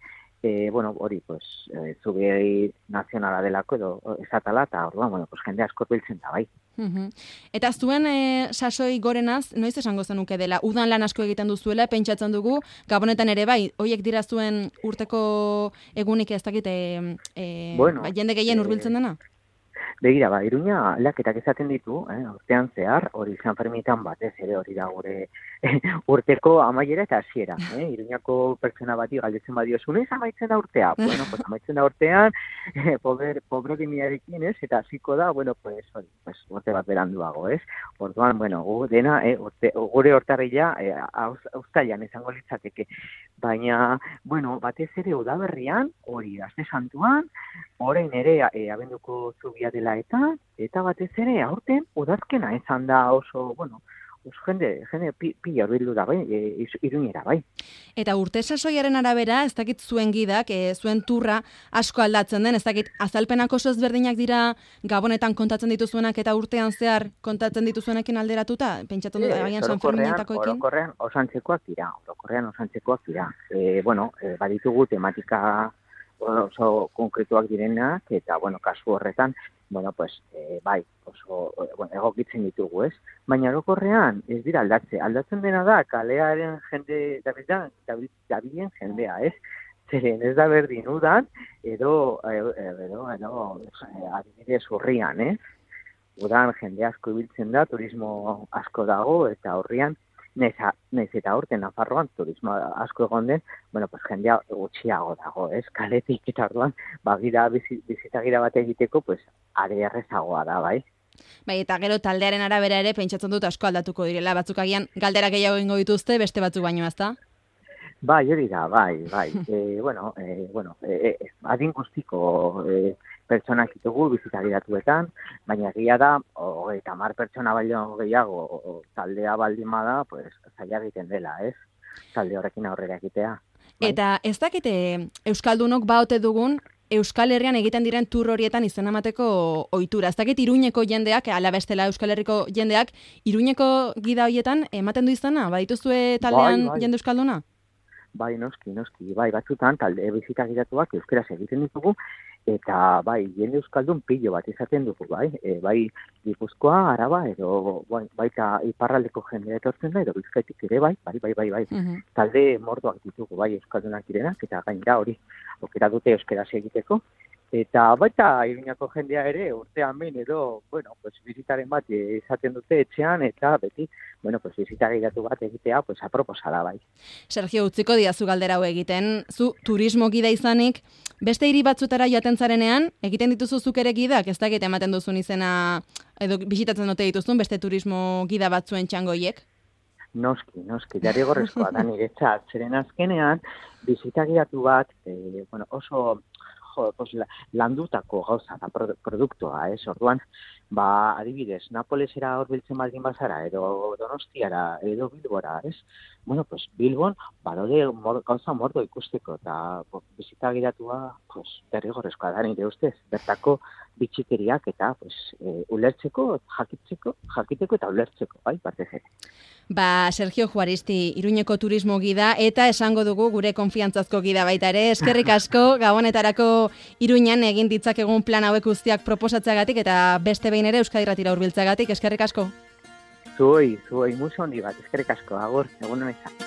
bueno, hori, pues, zubi nazionala delako edo esatala, eta orduan, bueno, pues, jende asko biltzen da, bai. Eta zuen sasoi gorenaz, noiz esango zenuke dela, udan lan asko egiten duzuela, pentsatzen dugu, Gabonetan ere bai, hoiek dira zuen urteko egunik ez dakit, Bueno, jende gehien hurbiltzen dena? Begira, Iruña aldaketak izaten ditu, urtean zehar, hori San Ferminetan batez ere hori da gure urteko amaiera eta hasiera. Iruñako pertsona bati galdetzen badiozu, noiz amaitzen da urtea? Bueno, pues amaitzen da urtean, pobrokimiarekin, ez? Eta hasiko da, bueno, pues hori, pues urte bat beranduago, ez? Orduan, bueno, dena, gure urtarrila uztailan izango litzateke. Baina, bueno, batez ere udaberrian, hori Aste Santuan, orain ere abenduko zubia dela eta batez ere aurten udazkena izan da oso, bueno, jende pila hurbildu da, bai, Iruñera, bai. Eta urte sasoiaren arabera, ez dakit zuen gidak, zuen turra asko aldatzen den, ez dakit azalpenak oso ezberdinak dira Gabonetan kontatzen dituzuenak eta urtean zehar kontatzen dituzuenekin alderatuta? Pentsatzen dut, agian San Ferminetakoekin? Orokorrean osantzekoak dira. Bueno, baditugu tematika oso konkretuak direnak, eta, bueno, kasu horretan, bueno, pues, bai, oso, bueno, egokitzen ditugu, ez? Baina orokorrean ez dira aldatzen dena da, kalearen jende, dabilen jendea, ez? Zeren ez da berdin udan, edo adibidez urrian, ez? Udan jende asko ibiltzen da, turismo asko dago, eta urrian, Naiz eta aurten Nafarroan turismo asko egon den, bueno, pues jendea gutxiago dago, ez? Kaletik eta orduan, bizitagira bat egiteko, pues, are errezagoa da, bai? Bai, eta gero taldearen arabera ere pentsatzen dut asko aldatuko direla, batzuk agian galdera gehiago egingo dituzte, beste batzuk baino, ezta? Bai, hori da, bai. Adin guztiko pertsonak ditugu bizitagiratuetan, baina egia da, 30 pertsona baino gehiago taldea baldin bada, pues, zaila egiten dela, ez? Talde horrekin aurrera egitea. Bai? Eta ez dakite Euskaldunok baote dugun, Euskal Herrian egiten diren tur horietan izena emateko ohitura. Ez dakit Iruñeko jendeak, ala bestela Euskal Herriko jendeak, Iruñeko gida horietan ematen du izena? Badituzue taldean jende Euskalduna? Bai, noski, bai, batzutan talde bizitagiratuak euskeraz egiten ditugu, eta bai, jende euskaldun pilo bat izaten dugu, bai, bai Gipuzkoa, Araba, edo baita iparraldeko jendea etortzen da, edo Bizkaitik ere, bai. Talde mordoak ditugu, bai, euskaldunak direnak, eta gainera hori, aukera dute euskeraz egiteko, eta baita Iruñako jendea ere urtean behin edo, bueno, pues bizitaren bat izaten dute etxean, eta beti, bueno, pues bizitagiratu bat egitea, pues aproposa da, bai. Sergio, utziko diazu galdera hau egiten, zu turismo gida izanik, beste hiri batzutara joaten zarenean, egiten dituzu zuk ere gidak, ez dakit ematen duzun izena, edo bisitatzen dute dituzun, beste turismo gida batzuen txangoiek? Noski, derrigorrezkoa da niretzat, zeren azkenean, bizitagiratu bat, bueno, oso landutako gauza da produktua, ez? Orduan, adibidez, Napolesera hurbiltzen baldin bazara, edo Donostiara, edo Bilbora, ez? Bueno, pues Bilbon, badaude gauza mordo ikusteko, eta bizitagiratua, pues, derrigorrezkoa da nire ustez, bertako bitxikeriak eta, pues, ulertzeko, jakiteko eta ulertzeko, bai, partez ere. Sergio Juaristi, Iruñeko turismo gida, eta esango dugu gure konfiantzazko gida baita ere. Eskerrik asko, Gabonetarako Iruñan egin ditzakegun plan hauek guztiak proposatzeagatik, eta beste behin ere Euskadi Irratira hurbiltzeagatik. Eskerrik asko. Zuei, muso handi bat, eskerrik asko, agur, egun honetan.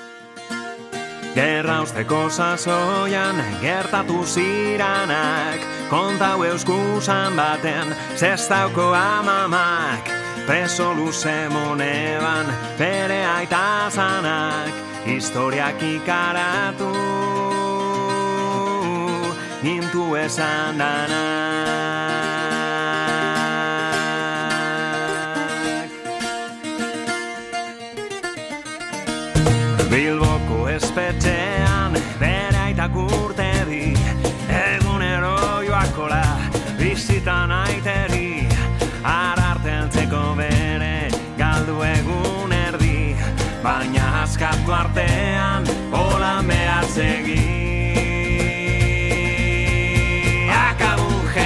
Gerra usteko sasoian gertatu ziranak, kontau euskusan baten zestauko amamak, preso luze moneban bere aita zanak, historiak ikaratu nintu esan danak. Bilboko espetxean bere aitak urte di, egunero joakola bizitan aiteri, arartentzeko bere galdu egun erdi, baina askatu artean holan behar segi. Akabu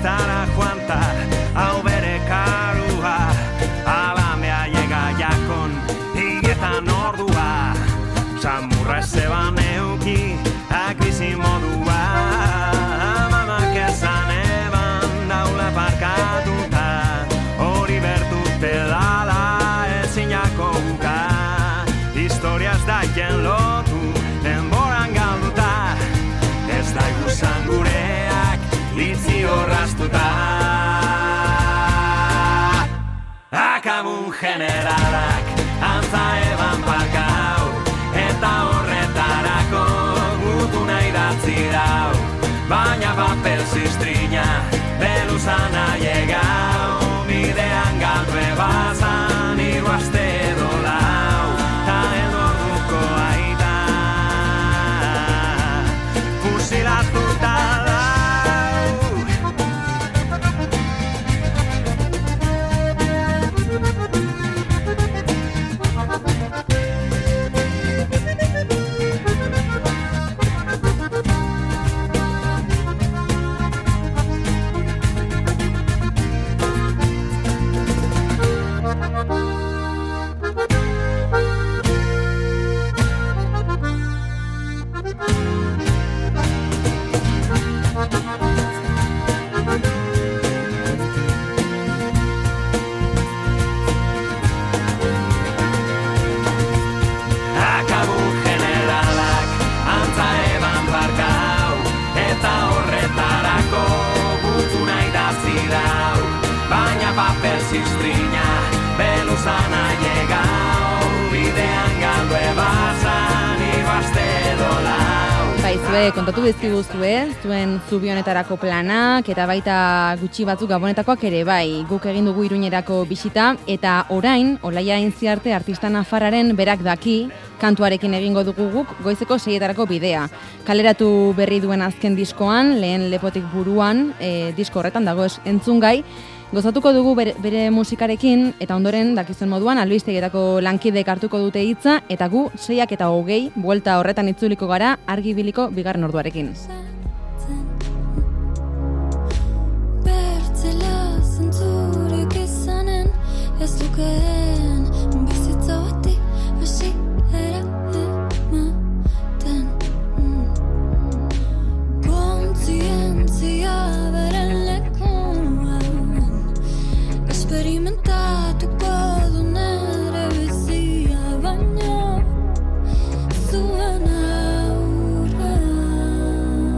telebistara joanta, hau bere karua, alamea llega jakon, hietan ordua, samurra zeban euki, akbizi modua, mamak ezan eban daula parkatuta, hori bertute dala ezinako buka, historia ez daien lotu, denboran galduta, ez daigu gureak litzi horraztuta. Akabun generalak antza eban parkau, eta horretarako gutuna idatzi dau, baina papel ziztrina beluzan aiegau, bidean galdu ebazan hiru aste edo lau, ta edo orduko aita fusilatuta dau. Ziztrina, beluzan aiegau, bidean galdu ebazan ibaste dolau. Baizue, kontatu dizkiguzue, zuen zubi honetarako planak, eta baita gutxi batzuk gabonetakoak ere bai, guk egin dugu Iruñerako bisita, eta orain, Olaia Intziarte artista nafarraren berak daki, kantuarekin egingo dugu guk goizeko 6etarako bidea. Kaleratu berri duen azken diskoan, lehen lepotik buruan, disko horretan dago entzungai, gozatuko dugu bere musikarekin, eta ondoren, dakizuen moduan, albistegietako lankidek hartuko dute hitza, eta gu 6:20 buelta horretan itzuliko gara argibiliko bigarren orduarekin. Bertzela zentzurik izanen, ez dukeen bizitza bati hasiera ematen. Kontzientzia beren lekuan, esperimentatuko du nere bizia, baina zuen aurrean.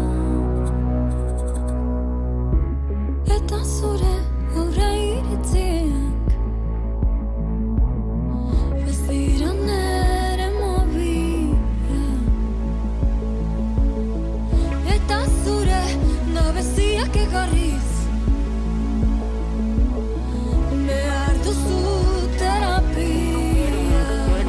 Eta zure aurre iritziak ez dira nere mobila. Eta zure gabeziak egarriz behar duzu terapia.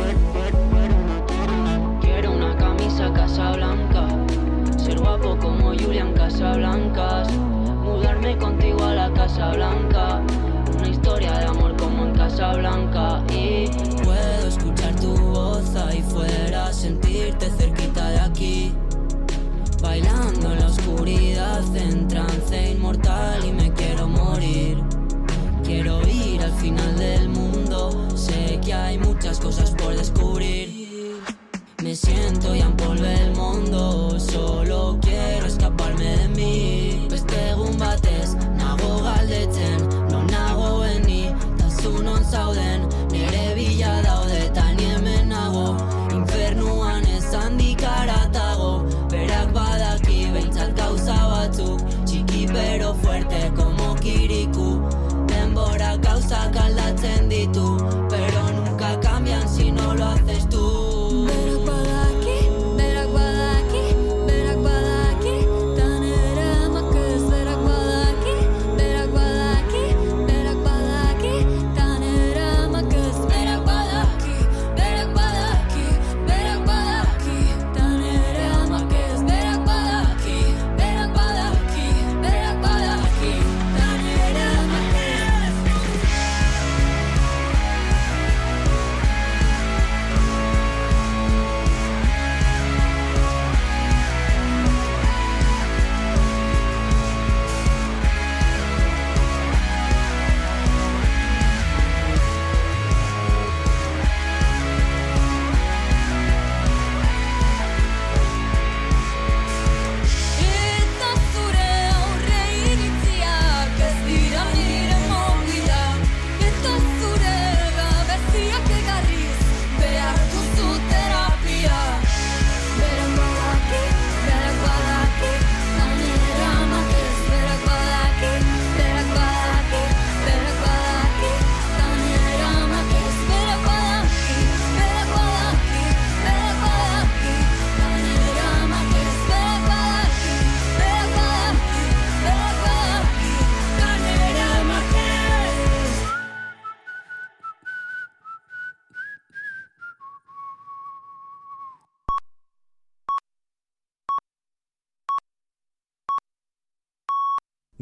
Quiero una camisa Casablanca, ser guapo como Julián Casablancas, mudarme contigo a la Casa Blanca, una historia de amor como en Casablanca. Y puedo escuchar tu voz ahí fuera, sentirte cerquita de aquí, bailando en la oscuridad en trance inmortal, y me quiero morir. Quiero ir al final del mundo, sé que hay muchas cosas por descubrir. Me siento ya empolvé el mundo, solo quiero escaparme de mí. Beste egun batez, nago galdetzen, non nagoen ni, tazu non zauden, nere bila daude, eta ni hemen nago, infernuan ez handik haratago, berak badaki behintzat gauza batzuk, txiki pero fuerte como Kiriku, denbora gauzak aldatzen ditu, pero nunca cambian si no lo haces tú. Berak badaki,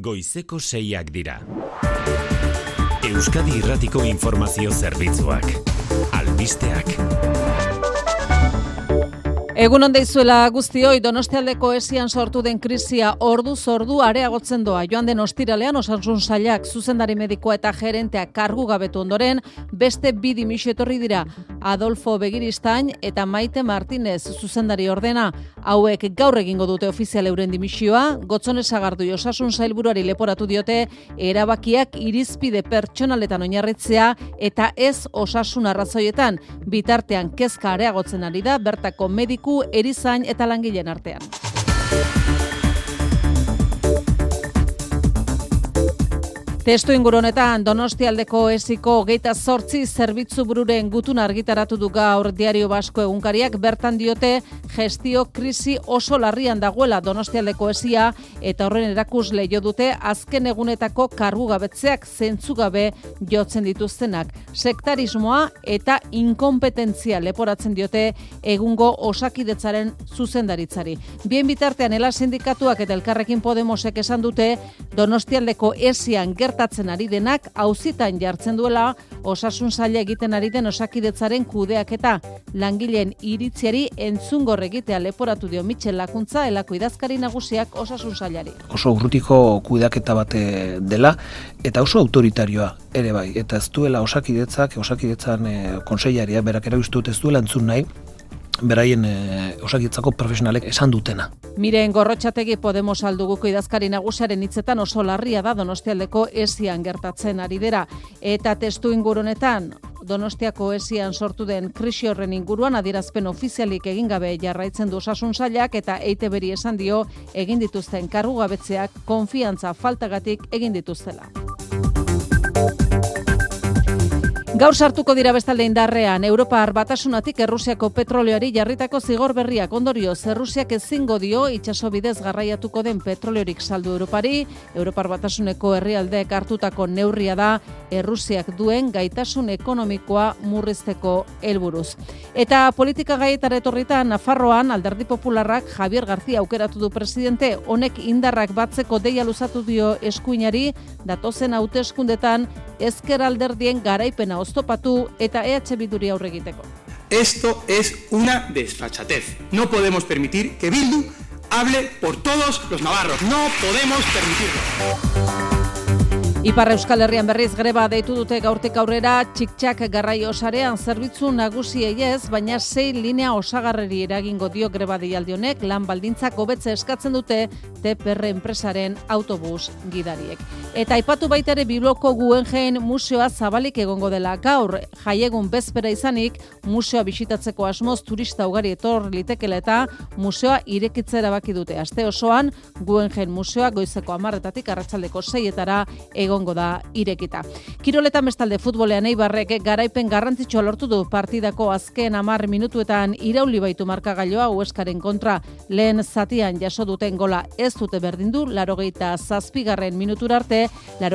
goizeko 6 dira. Euskadi Irratiko Informazio Zerbitzuak. Albisteak. Egun on deizuela guztioi, Donostialdeko esian sortu den krisia orduz ordu areagotzen doa. Joan den ostiralean Osasun Sailak zuzendari medikoa eta gerenteak kargu gabetu ondoren, beste 2 dimisio etorri dira. Adolfo Begiristain eta Maite Martinez zuzendari ordena. Hauek gaur egingo dute ofizial euren dimisioa. Gotzone Sagardui Osasun Sailburuari leporatu diote erabakiak irizpide pertsonaletan oinarritzea eta ez osasun arrazoietan. Bitartean kezka areagotzen ari da bertako mediku, erizain eta langileen artean. Testu inguru honetan Donostialdeko esiko 28 zerbitzu bururen gutun argitaratu du gaur Diario Basko egunkariak. Bertan diote gestio krisi oso larrian dagoela Donostialdeko esia eta horren erakusle jo dute azken egunetako kargu gabetzeak zentzugabe jotzen dituztenak. Sektarismoa eta inkompetentzia leporatzen diote egungo Osakidetzaren zuzendaritzari. Bien bitartean Ela sindikatuak eta Elkarrekin Podemosek esan dute Donostialdeko esian gertatzen ari denak auzitan jartzen duela Osasun Saila egiten ari den Osakidetzaren kudeaketa. Langileen iritziari entzungor egitea leporatu dio Michel Lakuntza, Elako idazkari nagusiak Osasun Sailari. Oso urrutiko kudeaketa bat dela eta oso autoritarioa ere bai. Eta ez duela Osakidetzan kontseilaria berak erabiltzen ez duela entzun nahi beraien Osakidetzako profesionalek esan dutena. Miren Gorrotxategi Podemos alduguko idazkari nagusiaren hitzetan oso larria da Donostialdeko esian gertatzen ari dira. Eta testu ingurunetan Donostiako esian sortu den krisi horren inguruan adierazpen ofizialik egin gabe jarraitzen du Osasun Sailak eta EITBri esan dio egin dituzten kargugabetzeak konfiantza faltagatik egin dituztela. Gaur sartuko dira bestalde indarrean, Europar Batasunatik Errusiako petroleoari jarritako zigor berriak. Ondorioz, Errusiak ezingo dio itsaso bidez garraiatuko den petroleorik saldu Europari. Europar Batasuneko herrialdeek hartutako neurria da Errusiak duen gaitasun ekonomikoa murrizteko helburuz. Eta politika gaietara etorrita Nafarroan Alderdi Popularrak Javier García aukeratu du presidente. Honek indarrak batzeko deia luzatu dio eskuinari datozen hauteskundetan ezker alderdien garaipena oztopatu eta EH Bilduri aurre egiteko. Esto es una desfachatez. No podemos permitir que Bildu hable por todos los navarros. No podemos permitirlo. Ipar Euskal Herrian berriz greba deitu dute gaurtik aurrera txik-txak garraio sarean zerbitzu nagusiei ez, baina 6 linea osagarreri eragingo dio greba deialdi honek, lan baldintzak hobetze eskatzen dute TPR enpresaren autobus gidariek. Eta aipatu baita ere Bilboko Guggenheim museoa zabalik egongo dela gaur, jaiegun bezpera izanik, museoa bisitatzeko asmoz turista ugari etor litekela eta museoa irekitzera erabaki dute. Aste osoan Guggenheim museoa goizeko 10:00 arratsaldeko 6:00 egongo da irekita. Kiroletan bestalde futbolean Eibarrek garaipen garrantzitsua lortu du partidako azken 10 minutuetan irauli baitu markagailua Hueskaren kontra. Lehen zatian jaso duten gola ez dute berdindu 87. minutura arte,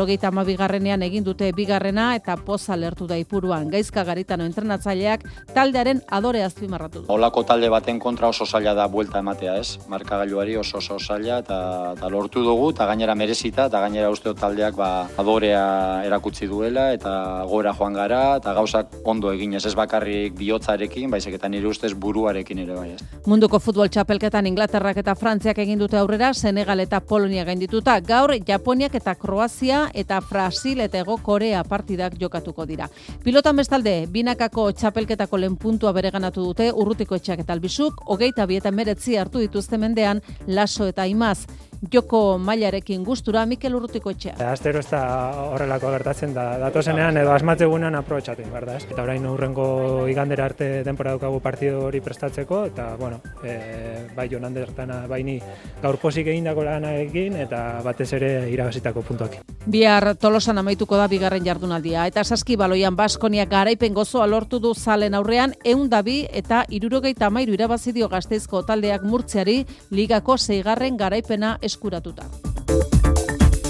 92. egin dute bigarrena eta poza lertu da Ipuruan. Gaizka Garitano entrenatzaileak taldearen adore azpimarratu du. Olako talde baten kontra oso zaila da buelta ematea, ez? Markagailuari oso zaila eta lortu dugu eta gainera merezita eta gainera uste taldeak adorea erakutsi duela eta gora joan gara eta gauzak ondo eginez, ez bakarrik bihotzarekin, baizik eta nire ustez buruarekin ere bai. Munduko futbol txapelketan Inglaterrak eta Frantziak egin dute aurrera, Senegal eta Polonia gaindituta. Gaur Japoniak eta Kroazia eta Brasil eta Hego Korea partidak jokatuko dira. Pilotan bestalde, binakako txapelketako lehen puntua bereganatu dute Urrutiko Etxeak eta Albizuk, 22 eta 19 hartu dituzte mendean Laso eta Imaz. Joko mailarekin gustura Mikel Urrutiko Etxea. Astero ez da horrelako gertatzen da datozenean edo asmatzegunean aprobetxatzen, berda, ez? Eta orain urrengo igandera arte denbora daukagu partido hori prestatzeko eta bueno, bai Jon Andertana baini gaur pozik egindako lanarekin eta batez ere irabazitako puntuak. Bihar Tolosan amaituko da bigarren jardunaldia eta saskibaloian Baskonia garaipen gozoa lortu du Zalen aurrean 102 eta 73 irabazi dio Gasteizko taldeak Murtziari ligako 6. garaipena eskuratuta.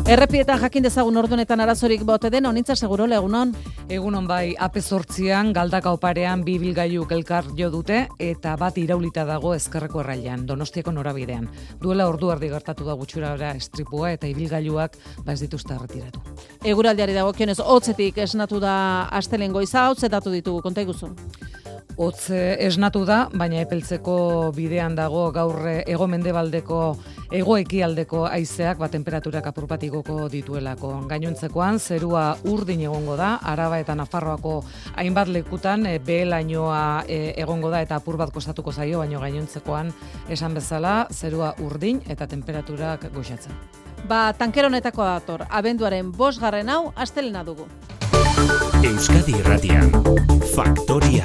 Errepietan jakin dezagun ordunetan arazorik bote den, honintza seguro egunon. Egunon bai, AP8an Galdaka oparean bi ibilgailuk elkar jo dute eta bat iraulita dago ezkerreko errailean, Donostiako norabidean. Duela ordu erdi gertatu da gutxurara estripua eta ibilgailuak ez dituzte erretiratu. Eguraldiari dagokionez hotzetik esnatu da astelehen goiza, hotzetatu ditugu, konta iguzu. Hotz esnatu da, baina epeltzeko bidean dago gaur hego-mendebaldeko hego-ekialdeko haizeak temperaturak apur bat igoko dituelako. Gainontzekoan zerua urdin egongo da, Araba eta Nafarroako hainbat lekutan behelainoa egongo da eta apur bat kostatuko zaio, baina gainontzekoan esan bezala zerua urdin eta temperaturak goxatzen. Tankero honetako dator, abenduaren 5. hau astelena dugu. Euskadi Irratian, Faktoria.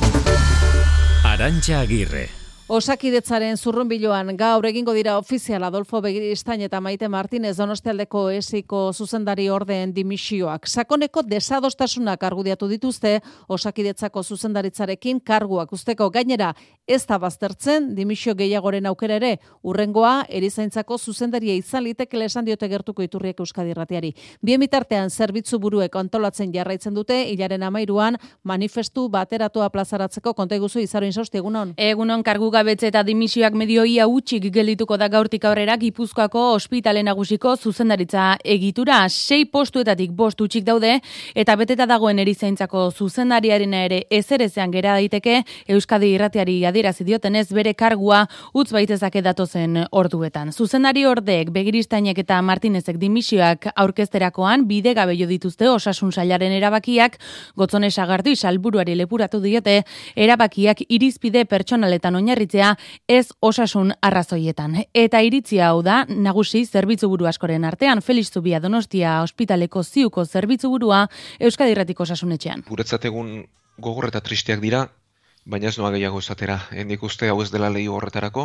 Arantxa Agirre. Osakidetzaren zurrunbiloan gaur egingo dira ofizial Adolfo Begiristain eta Maite Martinez Donostialdeko esiko zuzendari ordeen dimisioak. Sakoneko desadostasunak argudiatu dituzte Osakidetzako zuzendaritzarekin karguak usteko, gainera ez da baztertzen dimisio gehiagoren aukera ere, urrengoa erizaintzako zuzendaria izan litekela esan diote gertuko iturriek Euskadi Irratiari. Bien bitartean zerbitzu buruek antolatzen jarraitzen dute, hilaren 13an manifestu bateratua plazaratzeko. Konta iguzu Izaro Insausti, egunon. Egunon, kargu gabetze eta dimisioak medioia utxik geldituko da gaurtik aurrera Gipuzkoako ospitale nagusiko zuzendaritza egitura. 6 postuetatik 5 utxik daude eta beteta dagoen erizaintzako zuzendariarena ere ezerezean gera daiteke. Euskadi Irratiari adierazi diotenez bere kargua utz baitezake datozen orduetan. Zuzendari ordeek Begiristainek eta Martinezek dimisioak aurkezterakoan bidegabe jo dituzte Osasun Sailaren erabakiak. Gotzone Sagardu salburuari lepuratu diote erabakiak irizpide pertsonaletan oinarri ez osasun arrazoietan. Eta iritzia hau da, nagusi zerbitzuburu askoren artean, Felix Zubia Donostia ospitaleko ziuko zerbitzburua Euskadi Irratiko Osasunetxean. Guretzat egun gogor eta tristeak dira, baina ez noa gehiago esatera. Nik uste hau ez dela lehi horretarako,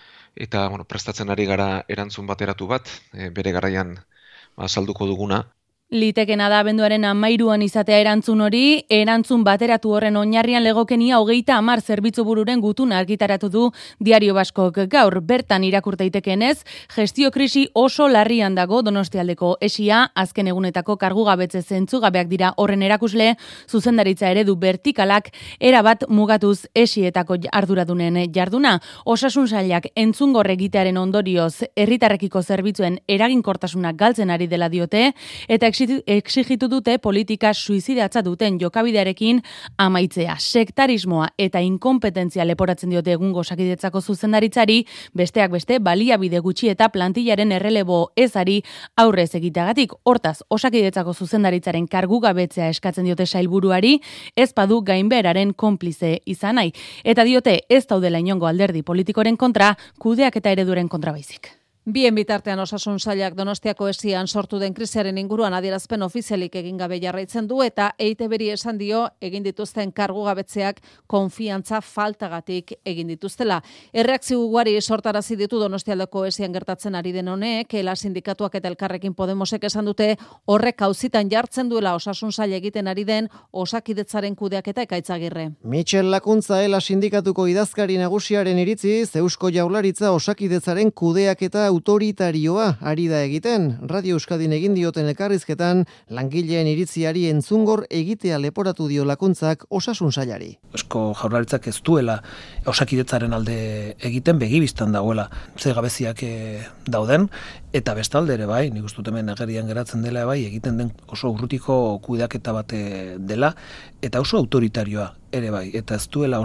eta prestatzen ari gara erantzun bateratu bat, bere garaian salduko duguna. Litekena da abenduaren 13an izatea erantzun hori, erantzun bateratu horren oinarrian legokenia 30 zerbitzubururen gutuna argitaratu du Diario Baskok gaur. Bertan irakur daitekeenez, gestio krisi oso larrian dago Donostialdeko esia, azken egunetako kargugabetze zentzugabeak dira horren erakusle, zuzendaritza eredu vertikalak erabat mugatuz esietako arduradunen jarduna. Osasun Sailak entzungor egitearen ondorioz herritarrekiko zerbitzuen eraginkortasunak galtzen ari dela diote, eta exigitu dute politika suizidatza duten jokabidearekin amaitzea. Sektarismoa eta inkompetentzia leporatzen diote egungo Osakidetzako zuzendaritzari, besteak beste baliabide gutxi eta plantillaren errelebo ezari aurrez egiteagatik. Hortaz, Osakidetzako zuzendaritzaren kargugabetzea eskatzen diote sailburuari, ez badu gainbeheraren konplize izan nahi. Eta diote ez daudela inongo alderdi politikoren kontra, kudeak eta ereduren kontra baizik. Bien bitartean Osasun Sailak Donostiako esian sortu den krisiaren inguruan adierazpen ofizialik egin gabe jarraitzen du eta EITBri esan dio egin dituzten kargugabetzeak konfiantza faltagatik egin dituztela. Erreakzio ugari sortarazi ditu Donostialdeko esian gertatzen ari den honek, ELA sindikatuak eta Elkarrekin Podemosek esan dute horrek auzitan jartzen duela Osasun Sail egiten ari den Osakidetzaren kudeaketa Ekaitzagirre. Michel Lakuntza ELA sindikatuko idazkari nagusiaren iritziz, Eusko Jaurlaritza Osakidetzaren kudeaketa autoritarioa ari da egiten. Radio Euskadin egin dioten elkarrizketan langileen iritziari entzungor egitea leporatu dio Lakuntzak Osasun Sailari. Eusko Jaurlaritzak ez duela Osakidetzaren alde egiten, begibistan dagoela ze gabeziak dauden, eta bestalde ere bai, nik uste dut hemen agerian geratzen dela bai, egiten den oso urrutiko kudeaketa bat dela, eta oso autoritarioa ere bai, eta ez duela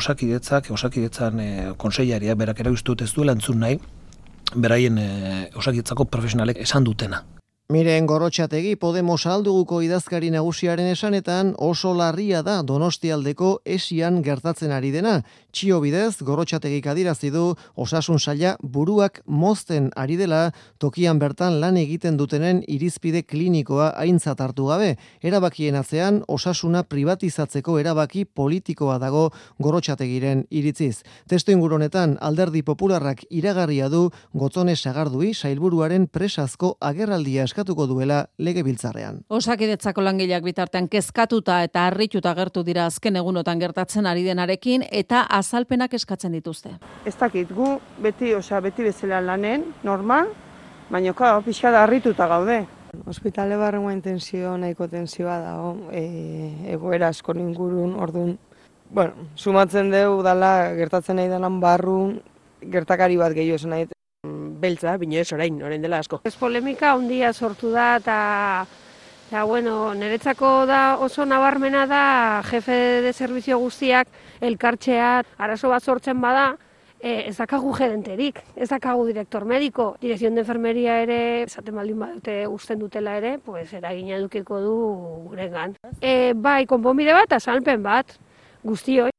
Osakidetzan konseilariak berak erauztut ez duela entzun nahi, beraien Osakidetzako profesionalek esan dutena. Miren Gorrotxategi Podemos alduguko idazkari nagusiaren esanetan oso larria da Donostialdeko esian gertatzen ari dena. Txio bidez, Gorrotxategik adierazi du Osasun Saila buruak mozten ari dela tokian bertan lan egiten dutenen irizpide klinikoa aintzat hartu gabe. Erabakien atzean osasuna privatizatzeko erabaki politikoa dago Gorrotxategiren iritziz. Testu inguronetan Alderdi Popularrak iragarria du Gotzone Sagardui sailburuaren presazko agerraldia eskatuko duela legebiltzarrean. Osakidetzako langileak bitartean kezkatuta eta harrituta agertu dira azken egunotan gertatzen ari denarekin eta azalpenak eskatzen dituzte. Ez dakit, gu beti bezala lanen, normal, baina pixka da harrituta gaude. Hospitale barrengoa tensio nahiko tensioa dago, egoera asko ingurun, orduan, sumatzen dugu dala gertatzen nahi denan barru gertakari bat gehiago esan nahi. Beltza, bine ez orain dela asko. Ez polemika handia sortu da eta niretzako da oso nabarmena da jefe de servizio guztiak elkartzea arazo bat sortzen bada, ez dakagu gerenterik, ez dakagu direktor mediko, direkzion de enfermeria ere, esaten baldin badute usten dutela ere, pues eragina edukiko du gurengan. Bai, konponbide bat, azalpen bat, guztioi.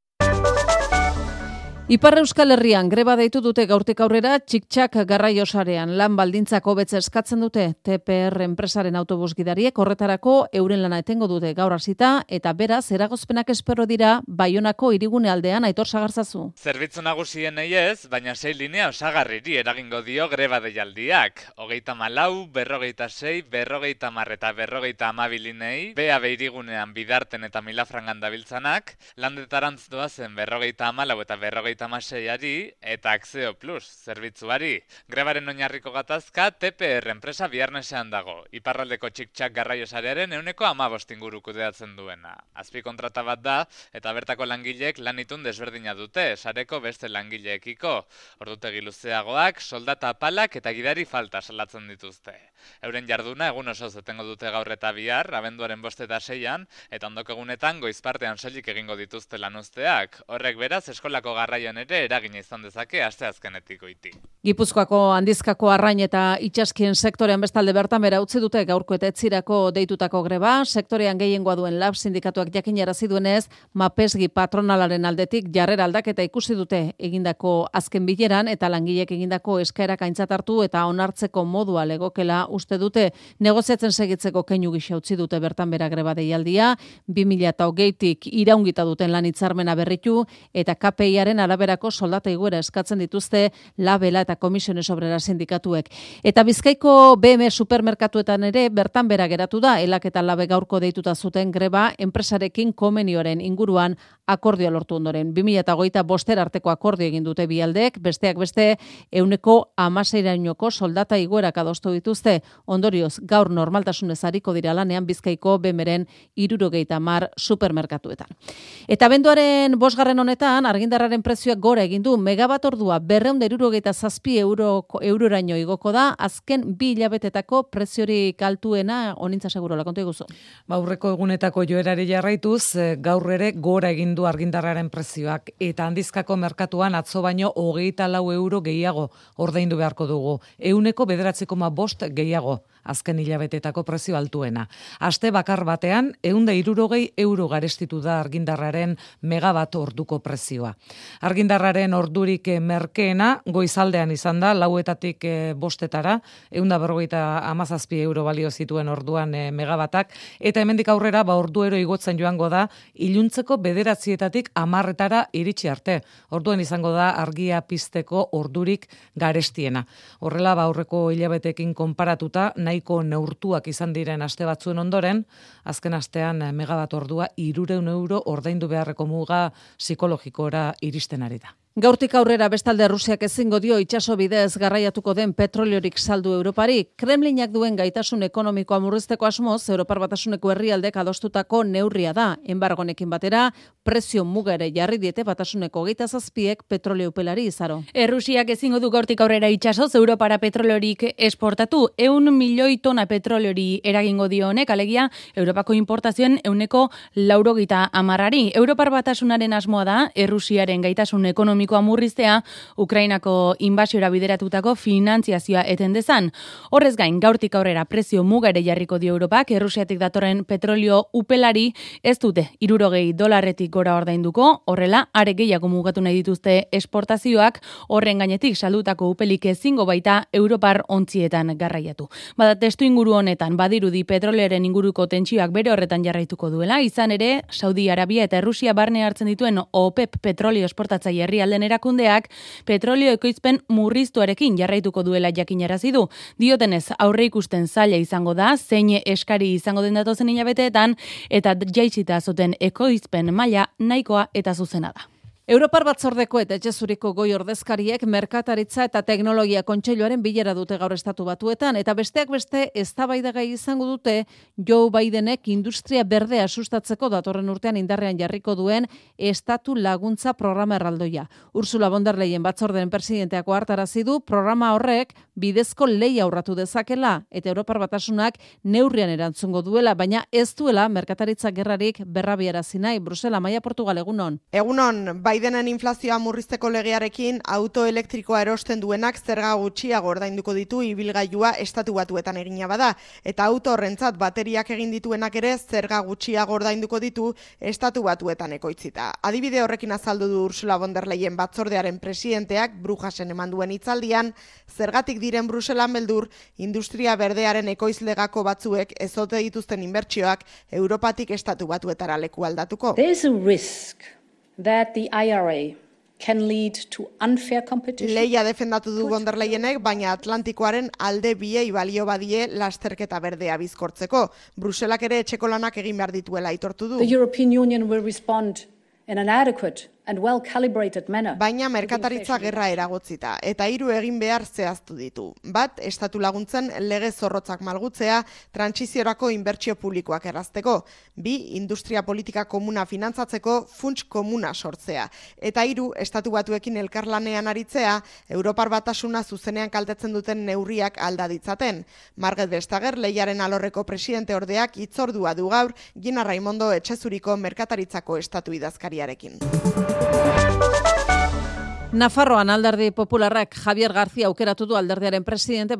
Ipar Euskal Herrian greba deitu dute gaurtik aurrera txik-txak garraio sarean lan baldintzak hobetze eskatzen dute TPR enpresaren autobus gidariek horretarako euren lana etengo dute gaur hasita eta beraz eragozpenak espero dira Baionako hirigune aldean Aitor Sagarzazu. Zerbitzu nagusien ez, baina 6 linea osagarriri eragingo dio greba deialdiak. 34, 46, 50 eta 52 linei, BAB hirigunean Bidarten eta Milafrangan dabiltzanak, landetarantz doazen 54 eta 56ari eta Axeo Plus zerbitzuari. Grebaren oinarriko gatazka TPR enpresa Biarnesean dago. Iparraldeko txik-txak garraio sarearen 15% inguru kudeatzen duena. Azpikontrata bat da eta bertako langileek lanitun desberdina dute, sareko beste langileekiko. Ordutegi luzeagoak, soldata apalak eta gidari falta salatzen dituzte. Euren jarduna egun osoz etengo dute gaur eta bihar, abenduaren 5 eta 6an, eta ondoko egunetan goizpartean soilik egingo dituzte lanuzteak. Horrek beraz eskolako garraioan ere eragina izan dezake asteazkenetik goiti. Gipuzkoako handizkako arrain eta itsaskien sektorean bestalde bertan bera utzi dute gaurko eta etzirako deitutako greba, sektorean gehiengoa duen LAB sindikatuak jakinarazi duenez, Mapesgi patronalaren aldetik jarrera aldaketa ikusi dute egindako azken bileran eta langileek egindako eskaerak aintzat hartu eta onartzeko modua legokela uste dute negoziatzen segitzeko keinu gisa utzi dute bertan bera greba deialdia, 2020tik iraungita duten lan hitzarmena berritu eta KPIaren araberako soldata igoera eskatzen dituzte Labela eta Komisiones Obrera sindikatuek. Eta Bizkaiko BM supermerkatuetan ere bertan bera geratu da, elak eta Labe gaurko deituta zuten greba enpresarekin komenioaren inguruan akordioa lortu ondoren. 2025 arteko akordio egin dute bi aldeek, besteak beste 16%ko soldata igoerak adostu dituzte. Ondorioz, gaur normaltasunez ariko dira lanean Bizkaiko BMren 70 supermerkatuetan. Eta abenduaren 5. honetan argindarraren prezioak gora egin du, megabat ordua 267 euroraino igoko da, azken 2 hilabetetako preziorik altuena onintza segurola, kontu eguzu. Aurreko egunetako joerari jarraituz, gaur ere gora egin du argindarraren prezioak, eta handizkako merkatuan atzo baino 24 euro gehiago ordaindu beharko dugu, 9,9% gehiago. Azken hilabetetako prezio altuena. Aste bakar batean, 160 euro garestitu da argindarraren megabat orduko prezioa. Argindarraren ordurik merkeena, goizaldean izan da, 4etatik 5etara, 157 euro balio zituen orduan megabatak, eta hemendik aurrera, orduero igotzen joango da, iluntzeko 9etatik 10etara iritsi arte. Orduan izango da argia pizteko ordurik garestiena. Horrela, aurreko hilabetekin konparatuta, nahiko neurtuak izan diren aste batzuen ondoren, azken astean megabat ordua 300 euro ordaindu beharreko muga psikologikora iristen ari da. Gaurtik aurrera bestalde Rusiak ezingo dio itsaso bidez garraiatuko den petroliorik saldu Europari. Kremlinak duen gaitasun ekonomikoa murrizteko asmoz, Europar Batasuneko herrialdek adostutako neurria da. Enbargonekin batera, prezio muga ere jarri diete Batasuneko 27ek petrolio upelari izaro. Rusiak ezingo du gaurtik aurrera itsasoz Europara petroliorik esportatu. 100 milioi tona petroliori eragingo dio honek, alegia Europako importazioen 90%. Europar Batasunaren asmoa da, Rusiaren gaitasun ekonomikoa murriztea, Ukrainako inbasiora bideratutako finantziazioa eten dezan. Horrez gain, gaurtik aurrera prezio muga ere jarriko dio Europak, Errusiatik datorren petrolio upelari ez dute $60 gora ordainduko, horrela, are gehiago mugatu nahi dituzte esportazioak, horren gainetik saldutako upelik ezingo baita Europar ontzietan garraiatu. Bada testu inguru honetan, badirudi petroleren inguruko tentsioak bere horretan jarraituko duela, izan ere, Saudi Arabia eta Errusia barne hartzen dituen OPEP petrolio esportatzaile herrialden erakundeak petrolio ekoizpen murriztuarekin jarraituko duela jakinarazi du. Diotenez, aurre ikusten zaila izango da, zein eskari izango den datozen hilabeteetan, eta jaitsita zuten ekoizpen maila nahikoa eta zuzena da. Europar Batzordeko eta Etxezuriko goi ordezkariek merkataritza eta teknologia kontseiluaren bilera dute gaur Estatu Batuetan eta besteak beste eztabaidagai izango dute Joe Bidenek industria berdea sustatzeko datorren urtean indarrean jarriko duen estatu laguntza programa erraldoia. Ursula von der Leyen batzorderen presidenteak ohartarazi du programa horrek bidezko lehia aurratu dezakela eta Europar Batasunak neurrian erantzungo duela, baina ez duela merkataritza gerrarik berrabiarazi nahi. Brusela, Maia Portugal, egunon. Egunon, Bidenen inflazioa murrizteko legearekin auto elektrikoa erosten duenak zerga gutxiago ordainduko ditu ibilgailua Estatu Batuetan egina bada, eta auto horrentzat bateriak egin dituenak ere zerga gutxiago ordainduko ditu Estatu Batuetan ekoitzita. Adibide horrekin azaldu du Ursula von der Leyen batzordearen presidenteak Brujasen eman duen hitzaldian, zergatik diren Bruselan beldur industria berdearen ekoizlegako batzuek ezote dituzten inbertsioak Europatik Estatu Batuetara leku aldatuko. There's a risk that the IRA can lead to unfair competition. Leia defendatu du von der Leyenek, baina Atlantikoaren alde biei balio badie lasterketa berdea bizkortzeko. Bruselak ere etxeko lanak egin behar dituela aitortu du. The European Union will respond in an adequate and well-calibrated manner. Baina merkataritza gerra eragotzita, eta 3 egin behar zehaztu ditu. Bat, estatu laguntzen lege zorrotzak malgutzea, trantsiziorako inbertsio publikoak errazteko. 2, industria politika komuna finantzatzeko funts komuna sortzea. Eta 3, Estatu Batuekin elkarlanean aritzea, Europar Batasuna zuzenean kaltetzen duten neurriak alda ditzaten. Margaret Vestager, Lehiaren alorreko presidente ordeak hitzordua du gaur, Gina Raimondo Etxezuriko merkataritzako estatu idazkariarekin. Nafarroan alderdi popularrak Javier García aukeratu du alderdiaren presidente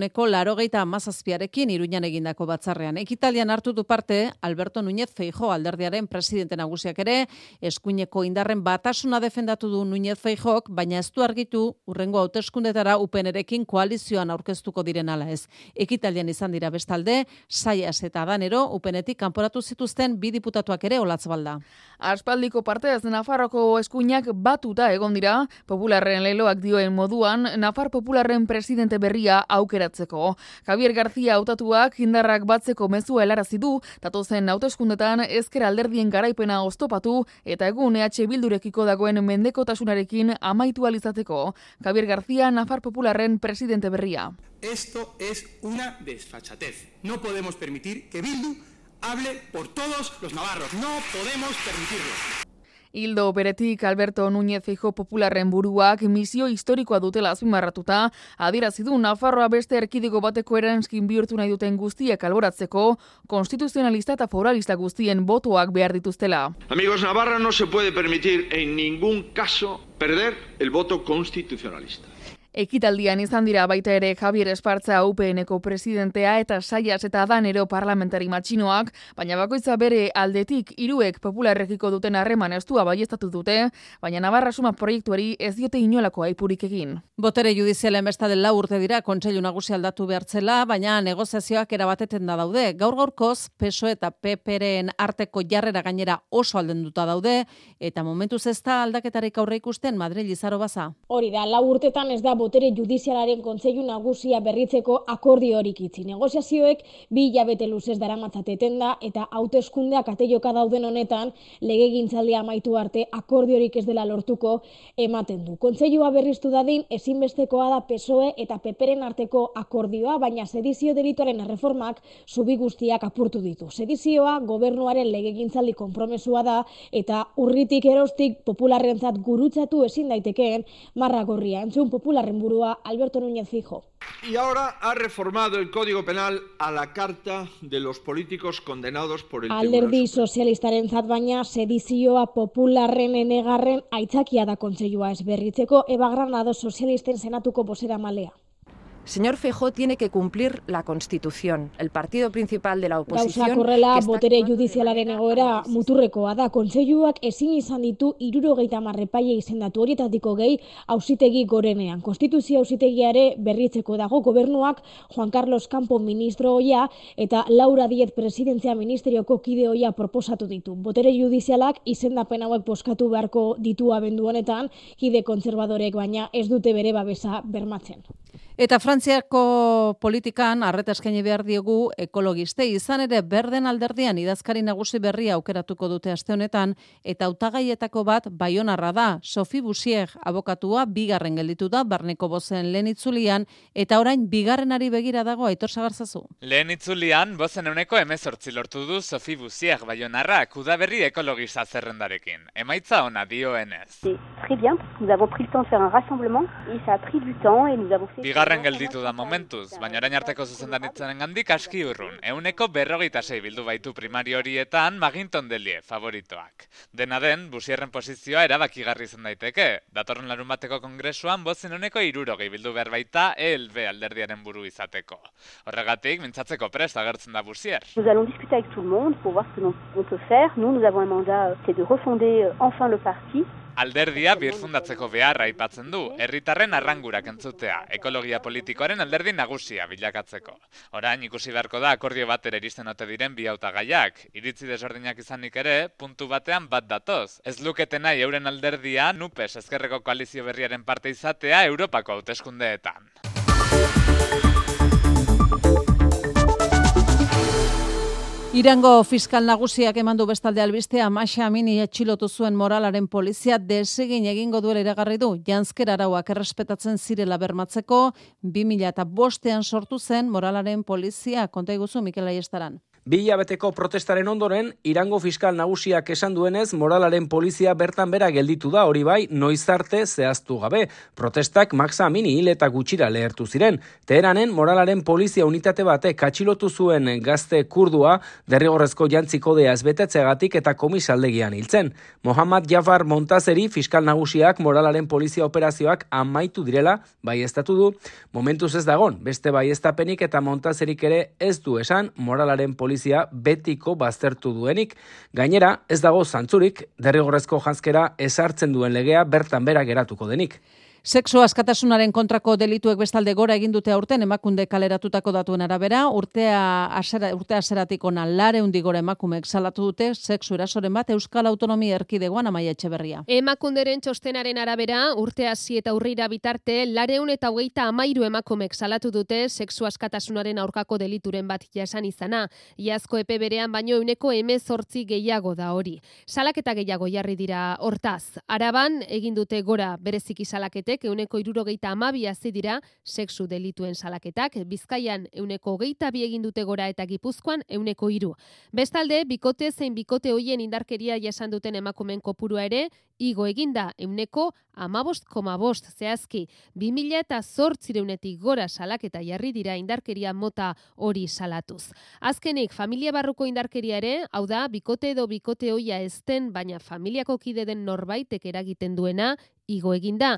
87,17rekin Iruñan egindako batzarrean. Ekitaldian hartu du parte Alberto Núñez Feijóo alderdiaren presidente nagusiak ere, eskuineko indarren batasuna defendatu du Núñez Feijóok, baina ez du argitu hurrengo hauteskundetara UPNrekin koalizioan aurkeztuko diren ala ez. Ekitaldian izan dira bestalde, Saias eta Danero UPNetik kanporatu zituzten 2 diputatuak ere Olatzbalda. Aspaldiko partez Nafarroko eskuinak batuta egon dira, Popularren leloak dioen moduan, Nafar Popularren presidente berria aukeratzeko. Javier García hautatuak indarrak batzeko mezua helarazi du, datozen hauteskundetan ezker alderdien garaipena oztopatu eta egun EH Bildurekiko dagoen mendekotasunarekin amaitu alizateko. Javier García, Nafar Popularren presidente berria. Esto es una desfachatez. No podemos permitir que Bildu hable por todos los navarros. No podemos permitirlo. Ildo beretik Alberto Núñez Feijóo Popularren buruak misio historikoa dutela azpimarratuta, adierazi du Nafarroa beste erkidego bateko eranskin bihurtu nahi duten guztiak alboratzeko, konstituzionalista eta foralista guztien botoak behar dituztela. Amigos, Navarra no se puede permitir en ningún caso perder el voto constitucionalista. Ekitaldian izan dira baita ere Javier Espartza UPNeko presidentea eta Saias eta Danero parlamentari matxinoak, baina bakoitza bere aldetik 3ek popularrekiko duten harreman estua baieztatu dute, baina Navarra Suma proiektuari ez diote inolako aipurik egin. Botere judizialen bestalde 4 urte dira Kontseilu Nagusia aldatu behartzela, baina negoziazioak erabateten da daude. Gaur-gaurkoz PSOE eta PPren arteko jarrera gainera oso aldenduta daude, eta momentuz ez da aldaketarik aurre ikusten Madril Izaro Baza. Hori da, 4 urtetan ez da botere judizialaren Kontseilu Nagusia berritzeko akordiorik itzi. Negoziazioek 2 hilabete luzez daramatzateten da eta hauteskundeak ateioka dauden honetan legegintzaldia amaitu arte akordiorik ez dela lortuko ematen du. Kontseilua berriztu dadin ezinbestekoa da PSOE eta PPren arteko akordioa, baina sedizio delituaren erreformak zubi guztiak apurtu ditu. Sedizioa gobernuaren legegintzaldi konpromesua da eta urritik erostik popularrentzat gurutzatu ezin daitekeen marra gorria. Entzun Popularren burua Alberto Núñez Feijóo. Y ahora ha reformado el Código Penal a la carta de los políticos condenados por el Alderdi sozialistarentzat baina sedizioa Popularren enegarren aitzakia da kontseilua ez berritzeko. Eba Granado sozialisten senatuko bozeramalea. Señor Feijóo tiene que cumplir la Constitución. El partido principal de la oposición... Gauzak horrela, botere judizialaren egoera muturrekoa da. Kontseiluak ezin izan ditu 70 epaile izendatu, horietako gehi auzitegi gorenean. Konstituzio auzitegiare berritzeko dago gobernuak Juan Carlos Campo ministro ohia eta Laura Díez presidentzia ministerioko kide ohia proposatu ditu. Botere judizialak izendapen hauek bozkatu beharko ditu abendu honetan, kide kontserbadorek baina ez dute bere babesa bermatzen. Eta Frantziako politikan arreta eskaini behar diogu ekologistei, izan ere Berden alderdian idazkari nagusi berria aukeratuko dute aste honetan, eta hautagaietako bat baionarra da. Sophie Bouchier abokatua bigarren gelditu da Barneko Bozen lehen itzulian, eta orain bigarrenari begira dago. Aitor Sagarzazu. Lehen itzulian Bozen 18 lortu du Sophie Bouchier baionarrak udaberri ekologista zerrendarekin. Emaitza ona dioenez. Très bien, nous avons pris le temps de faire un rassemblement et ça a pris du temps et nous avons fait... Bigarren gelditu da momentuz, baina orain arteko zuzendaritzanengandik aski urrun. 126 bildu baitu primari horietan Maginton Delie favoritoak. Dena den, Bouchierren posizioa erabakigarri izan daiteke. Datorren larunbateko kongresuan Bozen 60 bildu behar baita ELB alderdiaren buru izateko. Horregatik, mintzatzeko prest agertzen da Bouchier. Nous allons discuter avec tout le monde pour voir ce que l'on peut faire. Nous avons un mandat, c'est de refonder enfin le parti. Alderdia birfundatzeko beharra aipatzen du, herritarren arrangurak entzutea, ekologia politikoaren alderdi nagusia bilakatzeko. Orain ikusi beharko da akordio batera iristen ote diren bi hautagaiak. Iritzi desberdinak izanik ere, puntu batean bat datoz. Ez lukete nahi euren alderdia NUPES ezkerreko koalizio berriaren parte izatea Europako hauteskundeetan. Irango fiskal nagusiak emandu bestalde albistea Masha Amini atxilotu zuen moralaren polizia desegin egingo duela iragarri du. Janzker arauak errespetatzen zirela bermatzeko 2005ean sortu zen moralaren polizia. Konta iguzu Mikel Aiestaran. 2 hilabeteko protestaren ondoren, Irango fiskal nagusiak esan duenez, moralaren polizia bertan bera gelditu da, hori bai, noiz arte zehaztu gabe. Protestak Mahsa Amini hil eta gutxira lehertu ziren. Teheranen, moralaren polizia unitate batek atxilotu zuen gazte kurdua, derrigorrezko jantzi kodea ez betetzeagatik eta komisaldegian hiltzen. Mohammad Jafar Montazeri fiskal nagusiak moralaren polizia operazioak amaitu direla, baieztatu du. Momentuz ez dagon, beste baieztapenik eta Montazerik ere ez du esan moralaren polizia betiko baztertu duenik. Gainera, ez dago zantzurik, derrigorrezko janzkera ezartzen duen legea bertan bera geratuko denik. Sexu askatasunaren kontrako delituek bestalde gora egin dute aurten emakunde kaleratutako datuen arabera, urte haseratik ona 400 gora emakumeek salatu dute sexu erasoren bat Euskal Autonomia Erkidegoan. Amaia Etxeberria. Emakunderen txostenaren arabera, urte hasi eta urrira bitarte 433 emakumeek salatu dute sexu askatasunaren aurkako delituren bat jasan izana. Iazko epe berean baino 18 gehiago da hori. Salaketa gehiago jarri dira hortaz. Araban egin dute gora bereziki salaketek 172 hazi dira sexu delituen salaketak, Bizkaian 122 egin dute gora eta Gipuzkoan 103. Bestalde, bikote zein bikote hoien indarkeria jasan duten emakumeen kopurua ere igo eginda 15,5 zehazki. 2008etik gora salaketa jarri dira indarkeria mota hori salatuz. Azkenik, familia barruko indarkeria ere, hau da, bikote edo bikote hoia ez den, baina familiako kide den norbaitek eragiten duena, igo eginda.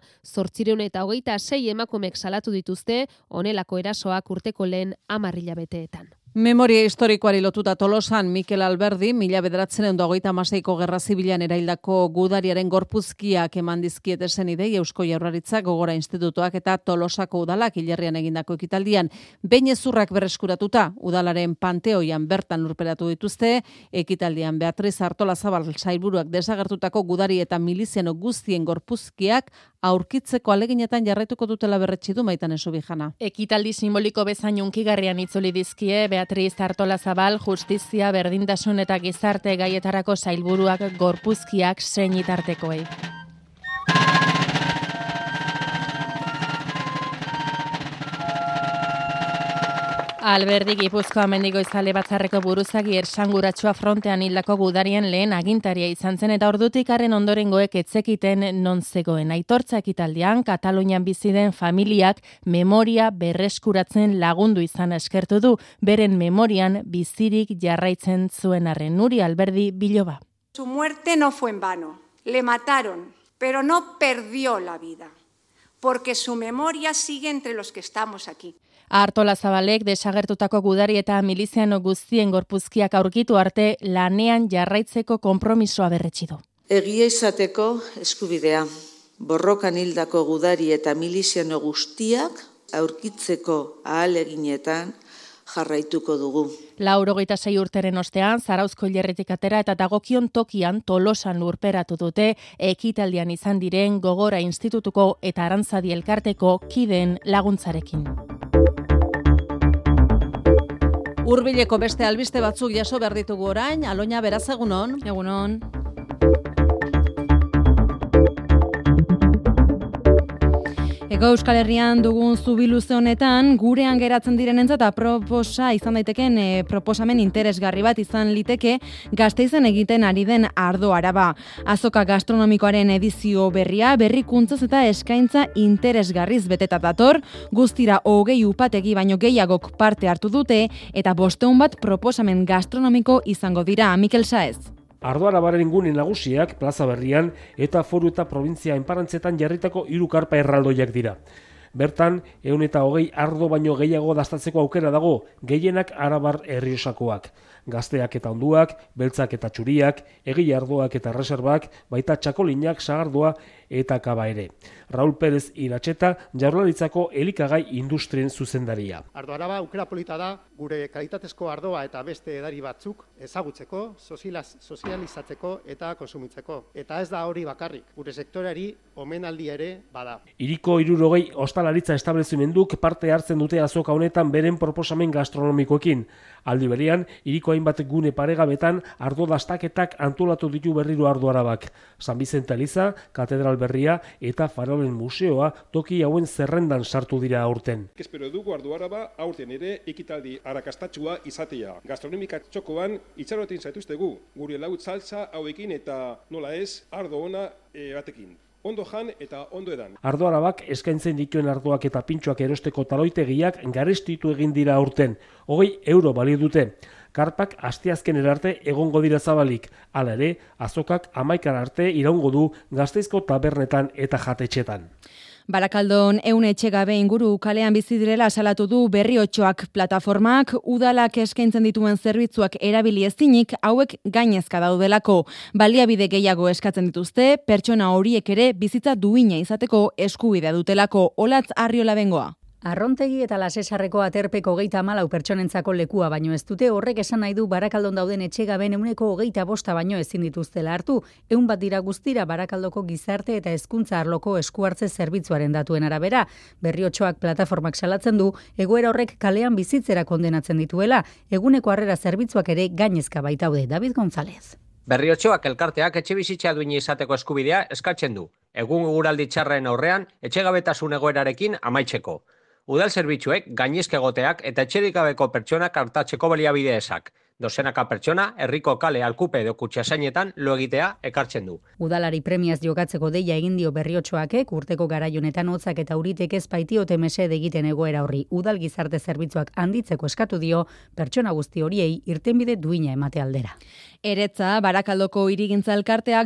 826 emakumeek salatu dituzte honelako erasoak urteko lehen 10 hilabeteetan. Memoria historikoari lotuta Tolosan Mikel Alberdi 1926ko gerra zibilan eraildako gudariaren gorpuzkiak eman dizkiete senidei Eusko Jaurlaritzak, Gogora Institutuak eta Tolosako udalak hilerrian egindako ekitaldian. Behin ezurrak berreskuratuta udalaren panteoian bertan lurperatu dituzte. Ekitaldian Beatriz Artolazabal sailburuak desagertutako gudari eta miliziano guztien gorpuzkiak aurkitzeko aleginetan jarraituko dutela berretsi du Maitane Subijana. Ekitaldi simboliko bezain hunkigarrian itzuli dizkie Beatriz Artolazabal, justizia, berdintasun eta gizarte gaietarako sailburuak gorpuzkiak senitartekoei. Alberdi Gipuzkoa Mendigoizale batzarreko buruzagi ersanguratsua frontean hildako gudarien lehen agintaria izan zen eta ordutik harren ondorengoek etzekiten non zegoen. Aitortza ekitaldian Katalunian bizi den familiak memoria berreskuratzen lagundu izan eskertu du, beren memorian bizirik jarraitzen zuen arren. Nuri Alberdi Biloba. Su muerte no fue en vano. Le mataron, pero no perdió la vida, porque su memoria sigue entre los que estamos aquí. Artolazabalek desagertutako gudari eta miliziano guztien gorpuzkiak aurkitu arte lanean jarraitzeko konpromisoa berretsi du. Egia izateko eskubidea, borrokan hildako gudari eta miliziano guztiak aurkitzeko ahaleginetan jarraituko dugu. 86 urteren ostean, Zarauzko hilerritik atera eta dagokion tokian Tolosan lurperatu dute ekitaldian izan diren Gogora Institutuko eta Arantzadi elkarteko kideen laguntzarekin. Hurbileko beste albiste batzuk jaso behar ditugu orain, Aloña, beraz egunon. Egunon. Ego Euskal Herrian dugun zubiluze honetan, gurean geratzen direnentzat aproposa izan daiteken proposamen interesgarri bat izan liteke Gasteizen egiten ari den Ardo Araba. Azoka gastronomikoaren edizio berria, berrikuntzaz eta eskaintza interesgarriz beteta dator, guztira 20 upategi baino gehiagok parte hartu dute eta 500 bat proposamen gastronomiko izango dira. Mikel Saez. Ardo Arabaren gune nagusiak plaza berrian eta foru eta provintzia enparantzetan jarritako 3 karpa erraldoiak dira. Bertan, 120 ardo baino gehiago dastatzeko aukera dago, gehienak Arabar Errioxakoak. Gazteak eta onduak, beltzak eta txuriak, egile ardoak eta reserbak, baita txakolinak, sagardoa eta kaba ere. Raul Pérez Iratxeta, Jaurlaritzako elikagai industrien zuzendaria. Ardo Araba aukera polita da, gure kalitatezko ardoa eta beste edari batzuk ezagutzeko, sozializatzeko eta konsumitzeko. Eta ez da hori bakarrik, gure sektoreari omenaldi ere bada. Hiriko 60 ostalaritza establezimenduk parte hartzen dute azoka honetan beren proposamen gastronomikoekin. Aldi berean, hiriko hainbat gune paregabetan ardo dastaketak antolatu ditu berriro Ardo Arabak. San Bizente Eliza, Katedral Berria eta Farolen Museoa toki hauen zerrendan sartu dira aurten. Espero dugu Ardo Araba aurten ere ekitaldi arrakastatsua izatea. Gastronomika txokoan itxaroten zaituztegu, gure laut saltza hauekin eta nola ez ardo ona batekin. Ondo jan eta ondo edan. Ardo Arabak eskaintzen dituen ardoak eta pintxoak erosteko taloitegiak garestitu egin dira aurten. 20 euro balio dute. Karpak asteazkenera arte egongo dira zabalik. Hala ere, azokak 11 arte iraungo du Gasteizko tabernetan eta jatetxetan. Barakaldon 100 etxegabe inguru kalean bizi direla salatu du Berriotxoak plataformak, udalak eskaintzen dituen zerbitzuak erabili ezinik hauek gainezka daudelako. Baliabide gehiago eskatzen dituzte, pertsona horiek ere bizitza duina izateko eskubidea dutelako. Olatz Arriola bengoa. Arrontegi eta Lasesarreko aterpeko 34 pertsonentzako lekua baino ez dute, horrek esan nahi du Barakaldon dauden etxegaben 125 baino ezin dituztela hartu. 100 bat dira guztira Barakaldoko gizarte eta hezkuntza arloko eskuhartze zerbitzuaren datuen arabera. Berriotxoak plataformak salatzen du, egoera horrek kalean bizitzera kondenatzen dituela, eguneko harrera zerbitzuak ere gainezka baitaude. David González. Berriotxoak elkarteak etxebizitza duina izateko eskubidea eskatzen du. Egun eguraldi txarren aurrean etxegabetasun egoerarekin amaitzeko. Udal zerbitzuek gainezka egoteak eta etxerik gabeko pertsonak artatzeko baliabide ezak. Dozenaka pertsona, herriko kale alkupe edo kutxasainetan lo egitea ekartzen du. Udalari premiaz jokatzeko deia egin dio Berriotxoakek, urteko garaionetan hotzak eta euritek ez baitiote mesede egiten egoera horri. Udal gizarte zerbitzuak handitzeko eskatu dio, pertsona guzti horiei irtenbide duina emate aldera. Eretza, Barakaldoko hirigintza elkarteak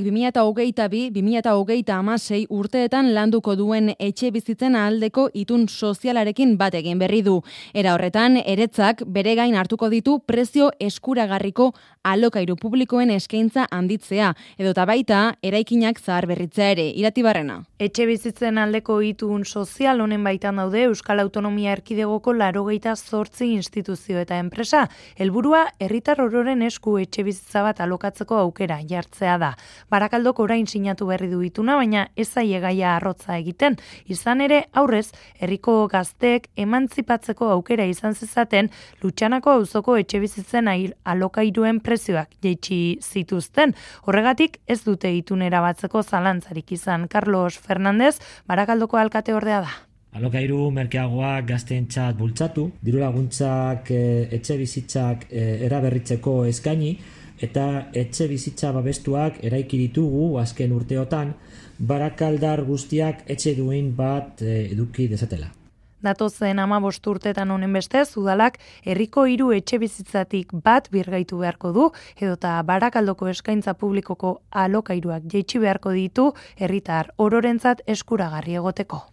2022-2026 urteetan landuko duen etxe bizitzen aldeko itun sozialarekin bat egin berri du. Era horretan, Eretzak bere gain hartuko ditu prezio eskuragarriko alokairu publikoen eskaintza handitzea, edota baita eraikinak zaharberritzea ere. Iratibarrena. Etxe bizitzen aldeko itun sozial honen baitan daude Euskal Autonomia Erkidegoko 88 instituzio eta enpresa. Helburua herritar ororen esku etxe bizitza bat alokatzeko aukera jartzea da. Barakaldok orain sinatu berri du ituna, baina ez zaie gaia arrotza egiten. Izan ere, aurrez, herriko gazteek emantzipatzeko aukera izan zezaten Lutxanako auzoko etxe bizitzen alokairuen prezioak jaitsi zituzten. Horregatik ez dute itunera batzeko zalantzarik izan. Carlos Fernández, Barakaldoko alkate ordea da. Alokairu merkeagoak gazteentzat bultzatu, diru laguntzak etxe bizitzak eraberritzeko eskaini, eta etxe bizitza babestuak eraiki ditugu azken urteotan, barakaldar guztiak etxe duin bat eduki dezatela. Datozen 15 urtetan honen bestez, udalak herriko 3 etxe bizitzatik bat birgaitu beharko du, edota Barakaldoko eskaintza publikoko alokairuak jaitsi beharko ditu herritar ororentzat eskuragarri egoteko.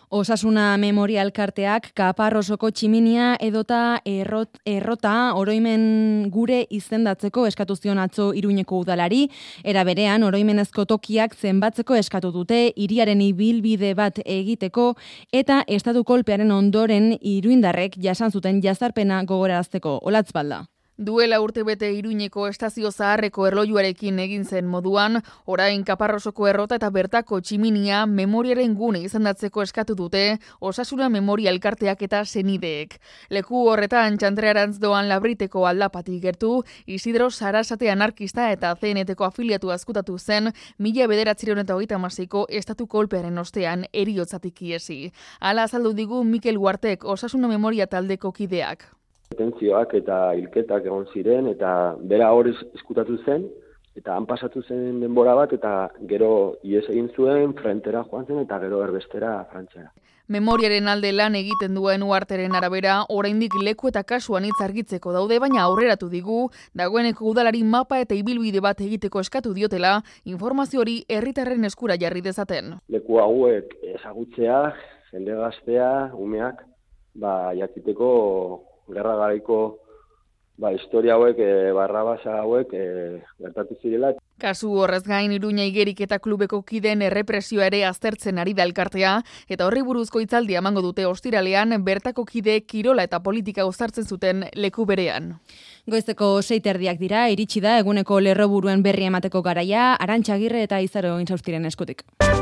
Osasuna Memoria Elkarteak Kaparrosoko tximinia edota errota oroimen gure izendatzeko eskatu zion atzo Iruñeko udalari, era berean oroimenezko tokiak zenbatzeko eskatu dute hiriaren ibilbide bat egiteko eta estatu kolpearen ondoren iruindarrek jasan zuten jazarpena gogorarazteko. Olatz Balda. Duela urtebete Iruñeko estazio zaharreko erlojuarekin egin zen moduan, orain Kaparrosoko errota eta bertako tximinia memoriaren gune izendatzeko eskatu dute Osasuna Memoria Elkarteak eta senideek. Leku horretan Txantrearantz doan Labriteko aldapatik gertu, Isidro Sarasate anarkista eta CNT-ko afiliatu azkutatu zen 1936ko estatu kolpearen ostean heriotzatik iesi. Hala azaldu digu Mikel Uartek Osasuna Memoria taldeko kideak. Detentzioak eta hilketak egon ziren eta bera hor eskutatu zen eta han pasatu zen denbora bat eta gero ihes egin zuen frentera joan zen eta gero erbestera Frantziara. Memoriaren alde lan egiten duen Uarteren arabera, oraindik leku eta kasuan hitz argitzeko daude, baina aurreratu digu, dagoeneko udalari mapa eta ibilbide bat egiteko eskatu diotela, informazio hori herritarren eskura jarri dezaten. Leku hauek ezagutzea, jende gaztea, umeak, jakiteko gerra garaiko historia hauek, barrabasa hauek gertatu zirela. Kasu horrez gain Iruña Igerik eta klubeko kideen errepresioa ere aztertzen ari da elkartea, eta horri buruzko hitzaldia emango dute ostiralean bertako kide kirola eta politika uztartzen zuten leku berean. Goizeko 6:00 dira, iritsi da eguneko lerroburuen berri emateko garaia, Arantxa Agirre eta Izaro Intzaustiren eskutik.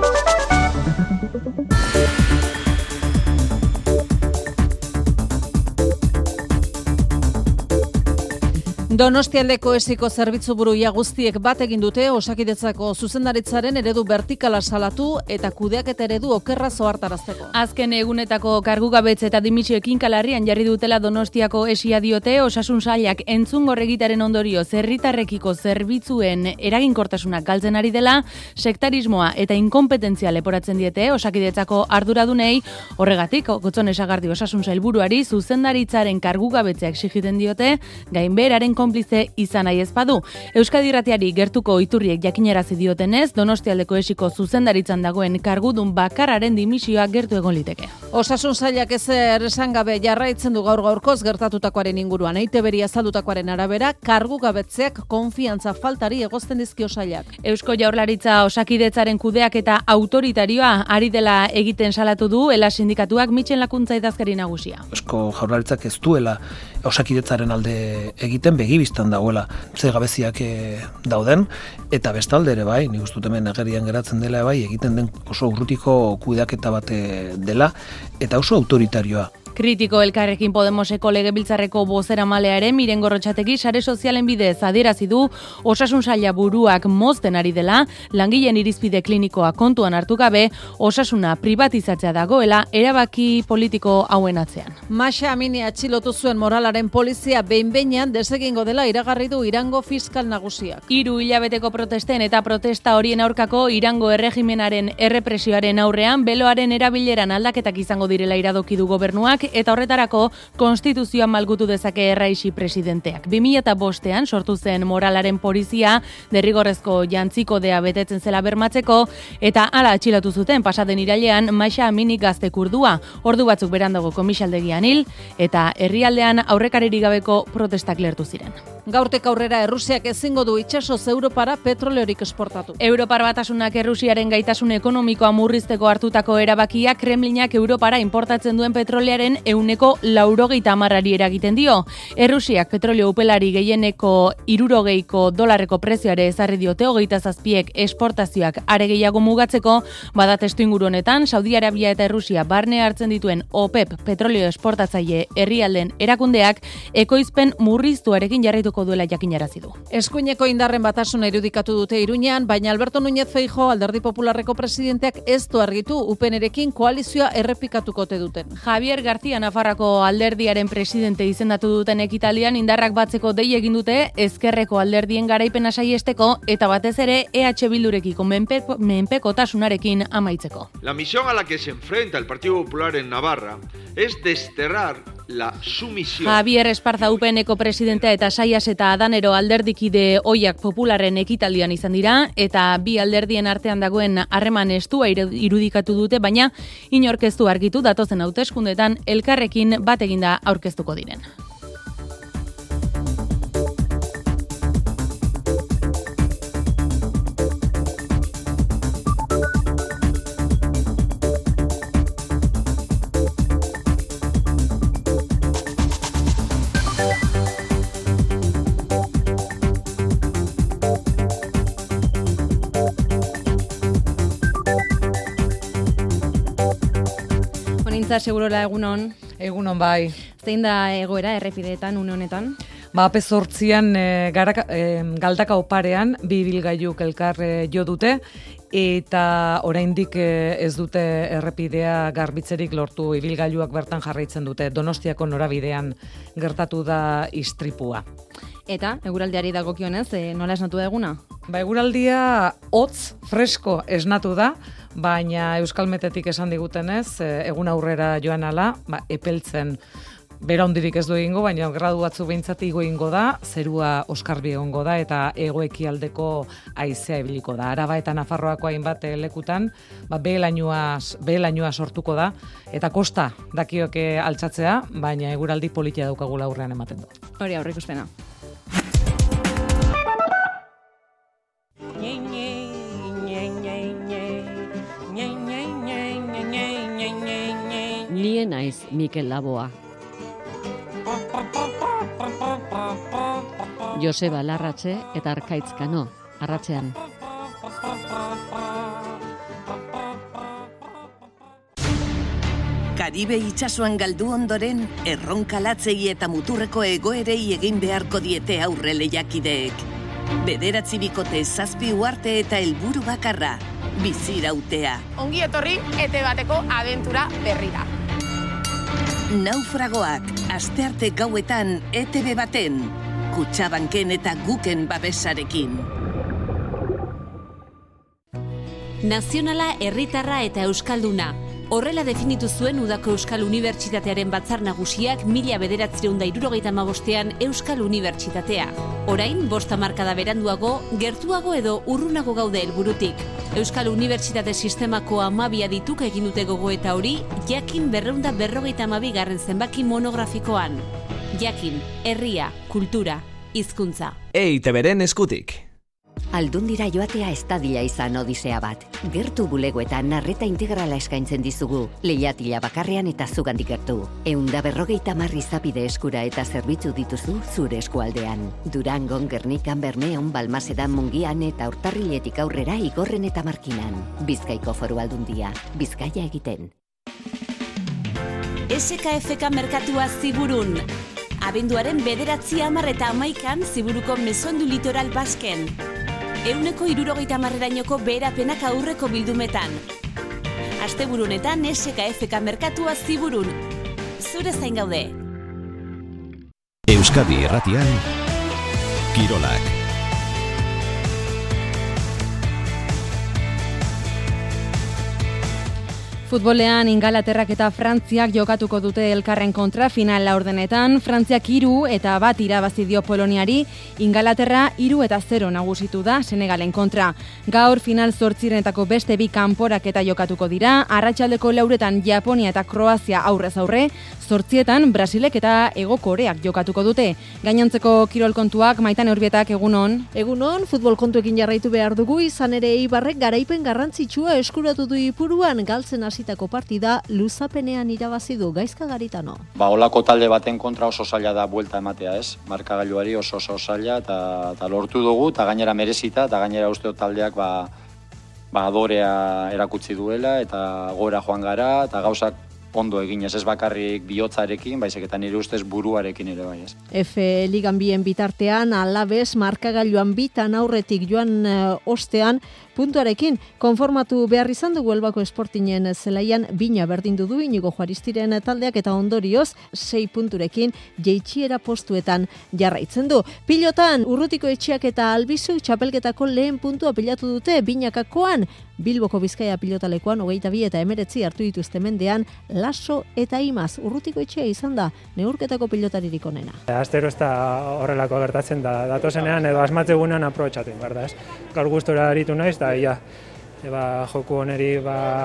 Donostialdeko esiko zerbitzuburu guztiek bat egin dute Osakidetzako zuzendaritzaren eredu vertikala salatu eta kudeaketa eredu okerra zohartarazteko. Azken egunetako kargugabetze eta dimitsioekin kalarrian jarri dutela Donostiako esia diote, Osasun Sailak entzungor egitaren ondorio herritarrekiko zerbitzuen eraginkortasunak galtzen ari dela, sektarismoa eta inkompetentzia leporatzen diete Osakidetzako arduradunei. Horregatik, Gotzone Sagardi Osasun Sailburuari zuzendaritzaren kargugabetzea exigiten diote, gainbeheraren konplize izan nahi ez badu. Euskadi Irratiari gertuko iturriek jakinarazi diotenez, Donostialdeko esiko zuzendaritzan dagoen kargudun bakarraren dimisioa gertu egon liteke. Osasun Sailak ezer esan gabe jarraitzen du gaurkoz gertatutakoaren inguruan. EITBri azaldutakoaren arabera, kargugabetzeak konfiantza faltari egozten dizkio sailak. Eusko Jaurlaritza Osakidetzaren kudeak eta autoritarioa ari dela egiten salatu du Ela sindikatuak Mitxen Lakuntza idazkari nagusia. Eusko Jaurlaritzak ez duela Osakidetzaren alde egiten begibistan dagoela ze gabeziak dauden, eta bestalde ere bai, nik uste dut hemen agerian geratzen dela bai, egiten den oso urrutiko kudeaketa bat dela, eta oso autoritarioa. Kritiko Elkarrekin Podemoseko legebiltzarreko bozeramale ere Miren Gorrotxategi sare sozialen bidez adierazi du Osasun Saila buruak mozten ari dela, langileen irizpide klinikoa kontuan hartu gabe, osasuna privatizatzea dagoela erabaki politiko hauen atzean. Maxa Amini atxilotu zuen moralaren polizia behin-behinean desegingo dela iragarri du Irango fiskal nagusiak. 3 hilabeteko protesten eta protesta horien aurkako Irango erregimenaren errepresioaren aurrean beloaren erabileran aldaketak izango direla iradoki du gobernuak, eta horretarako konstituzioa malgutu dezake Erraixi presidenteak. 2005ean sortu zen moralaren polizia derrigorrezko jantzikodea betetzen zela bermatzeko, eta hala atxilotu zuten pasaden irailean Maxa Amini gazte kurdua. Ordu batzuk berandago komisaldegian hil, eta herrialdean aurrekaririk gabeko protestak lehertu ziren. Gaurtek aurrera Errusiak ezingo du itsasoz Europara petroleorik esportatu. Europar Batasunak Errusiaren gaitasun ekonomikoa murrizteko hartutako erabakia Kremlinak Europara importatzen duen petrolearen 90% eragiten dio. Errusiak petrolio upelari gehieneko $60 prezioare ezarri diote 27ek esportazioak are gehiago mugatzeko, bada testuinguru honetan Saudi Arabia eta Errusia barne hartzen dituen OPEP petrolio esportatzaile herrialden erakundeak ekoizpen murriztuarekin jarraituko duela jakinarazi du. Eskuineko indarren batasuna irudikatu dute Iruñean, baina Alberto Núñez Feijóo Alderdi Popularreko presidenteak ez du argitu UPNrekin koalizioa errepikatuko ote duten. Javier García Nafarrako alderdiaren presidente izendatu duten ekitaldian indarrak batzeko dei egin dute ezkerreko alderdien garaipena saiesteko eta batez ere EH Bildurekiko menpekotasunarekin amaitzeko. La misión a la que se enfrenta el Partido Popular en Navarra es desterrar la sumisión. Javier Esparza UPNeko presidentea eta Saias eta Adanero alderdikide ohiak Popularren ekitaldian izan dira, eta bi alderdien artean dagoen harreman estua irudikatu dute, baina inork ez du argitu datozen hauteskundeetan elkarrekin bat eginda aurkeztuko diren. Segurola egunon. Egunon bai. Zein da egoera errepideetan une honetan? Ape 8an Galdaka oparean bi ibilgailuk elkar jo dute eta oraindik ez dute errepidea garbitzerik lortu, ibilgailuak bertan jarraitzen dute. Donostiako norabidean gertatu da istripua. Eta eguraldiari dagokionez, nola esnatu da eguna? Eguraldia hotz, fresko esnatu da, baina Euskalmetetik esan digutenez, egun aurrera joan ala, epeltzen bera hondirik ez du egingo, baina gradu batzu behintzat igo egingo da, zerua oskarbi egongo da, eta hego-ekialdeko haizea ibiliko da. Araba eta Nafarroako hainbat lekutan, behelainua sortuko da, eta kosta dakioke altxatzea, baina eguraldi politia daukagula aurrean ematen du. Hori aurrikuspena. Nien naiz Mikel Laboa. Joseba Larratxe eta Arkaitz Kano, arratsean. Karibe itsasoan galdu ondoren, erronkalatzei eta muturreko egoerei egin beharko diete aurre lehiakideek. 9 bikote 7 uharte eta helburu bakarra, bizirautea. Ongi etorri ete bateko abentura berrira. Naufragoak, astearte gauetan ETB baten, Kutxabanken eta Guken babesarekin. Nazionala, herritarra eta euskalduna. Horrela definitu zuen Udako Euskal Unibertsitatearen batzar nagusiak 1975ean Euskal Unibertsitatea. Orain, 5 hamarkada beranduago, gertuago edo urrunago gaude helburutik. Euskal Unibertsitate Sistemako 12 adituk egin dute gogoeta hori, Jakin 252. zenbaki monografikoan. Jakin, herria, kultura, hizkuntza. EITBren eskutik. Aldundira joatea ez dadila izan odisea bat. Gertu bulegoetan arreta integrala eskaintzen dizugu. Leihatila bakarrean eta zugandik gertu. 150 izapide eskura eta zerbitzu dituzu zure eskualdean. Durangon, Gernikan, Bermeon, Balmasedan, Mungian eta Urtarriletik aurrera Igorren eta Markinan. Bizkaiko Foru Aldundia. Bizkaia egiten. SKFK merkatua Ziburun. Abenduaren 9, 10 eta 11 Ziburuko Mesondu Litoral Basken. 170erainoko beherapenak aurreko bildumetan. Asteburunetan SKFK merkatua Ziburun. Zure zain gaude. Euskadi Irratian, Kirolak. Futbolean Ingalaterrak eta Frantziak jokatuko dute elkarren kontra final laurdenetan. Frantziak 3 eta 1 irabazi dio Poloniari, Ingalaterra 3-0 nagusitu da Senegalen kontra. Gaur final 8renetako beste 2 kanporaketa jokatuko dira. Arratsaldeko 4etan Japonia eta Kroazia aurrez aurre, 8etan Brasilek eta Hego Koreak jokatuko dute. Gainontzeko kirol kontuak, Maitane Urbietak, egunon. Egunon, futbol kontuekin jarraitu behar dugu, izan ere Eibarrek garaipen garrantzitsua eskuratu du Ipuruan, galtzen hasitako partida luzapenean irabazi du. Gaizka Garitano. Olako talde baten kontra oso zaila da buelta ematea, ez? Markagailuari oso zaila eta lortu dugu, eta gainera merezita, eta gainera uste taldeak adorea erakutsi duela, eta gora joan gara, eta gauzak ondo eginez, ez bakarrik bihotzarekin, baizik eta nire ustez buruarekin ere bai, ez. F Ligan bien bitartean, Alabez markagailuan bitan aurretik joan ostean, puntuarekin konformatu behar izan dugu Elbako Esportinen zelaian bina berdindu du Inigo Juaristiren taldeak eta ondorioz 6 punturekin jeitsiera postuetan jarraitzen du. Pilotan, Urrutiko Etxeak eta Albizuk txapelketako lehen puntua pilatu dute binakakoan, Bilboko Bizkaia pilotalekuan 22 eta 19 hartu dituzte mendean Laso eta Imaz. Urrutiko etxea izan da neurketako pilotaririk onena. Astero ez da horrelako gertatzen da, datozenean edo asmatzegunean aprobetxatu, berda ez. Gaur gustora aritu naiz, da joku oneri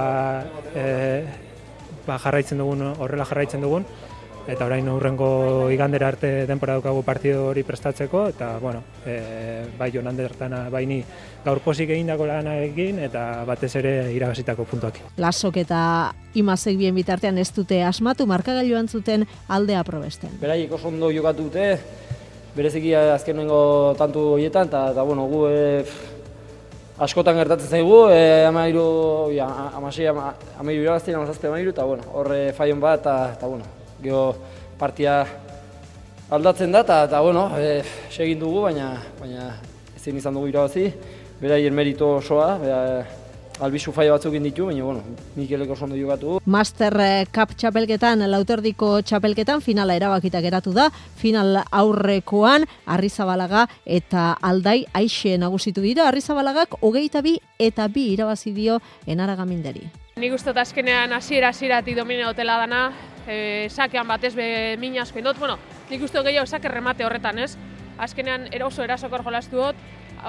jarraitzen dugun, horrela jarraitzen dugun, eta orain hurrengo igandera arte denbora daukagu partido hori prestatzeko, eta bai Jon Andertana, bai ni gaur pozik egindako lanarekin, eta batez ere irabazitako puntuak. Lasok eta Imazek bien bitartean ez dute asmatu markagailuan zuten aldea probesten. Beraiek oso ondo jokatu dute, bereziki azkenengo tantu horietan, eta gu askotan gertatzen zaigu, 13, 13 irabazten, 17, eta horre faion bat, eta gero partia aldatzen da, eta segin dugu, baina ezin izan dugu irabazi, beraien merito osoa, albizu faia batzuk ditu, baina Mikeleko oso ondo jokatu. Master Cup txapelketan, Lauterdiko txapelketan, finala erabakita geratu da, final aurrekoan, Arrizabalaga eta Aldai Aixe nagusitu dira, Arrizabalagak 22 eta 2 irabazi dio Enara Gaminderi. Nik uste azkenean hasieratik domine hotela dana, sakean batez min asko indot, nik uste gehiago sake remate horretan, ez? Azkenean oso erasokor jolastu dut,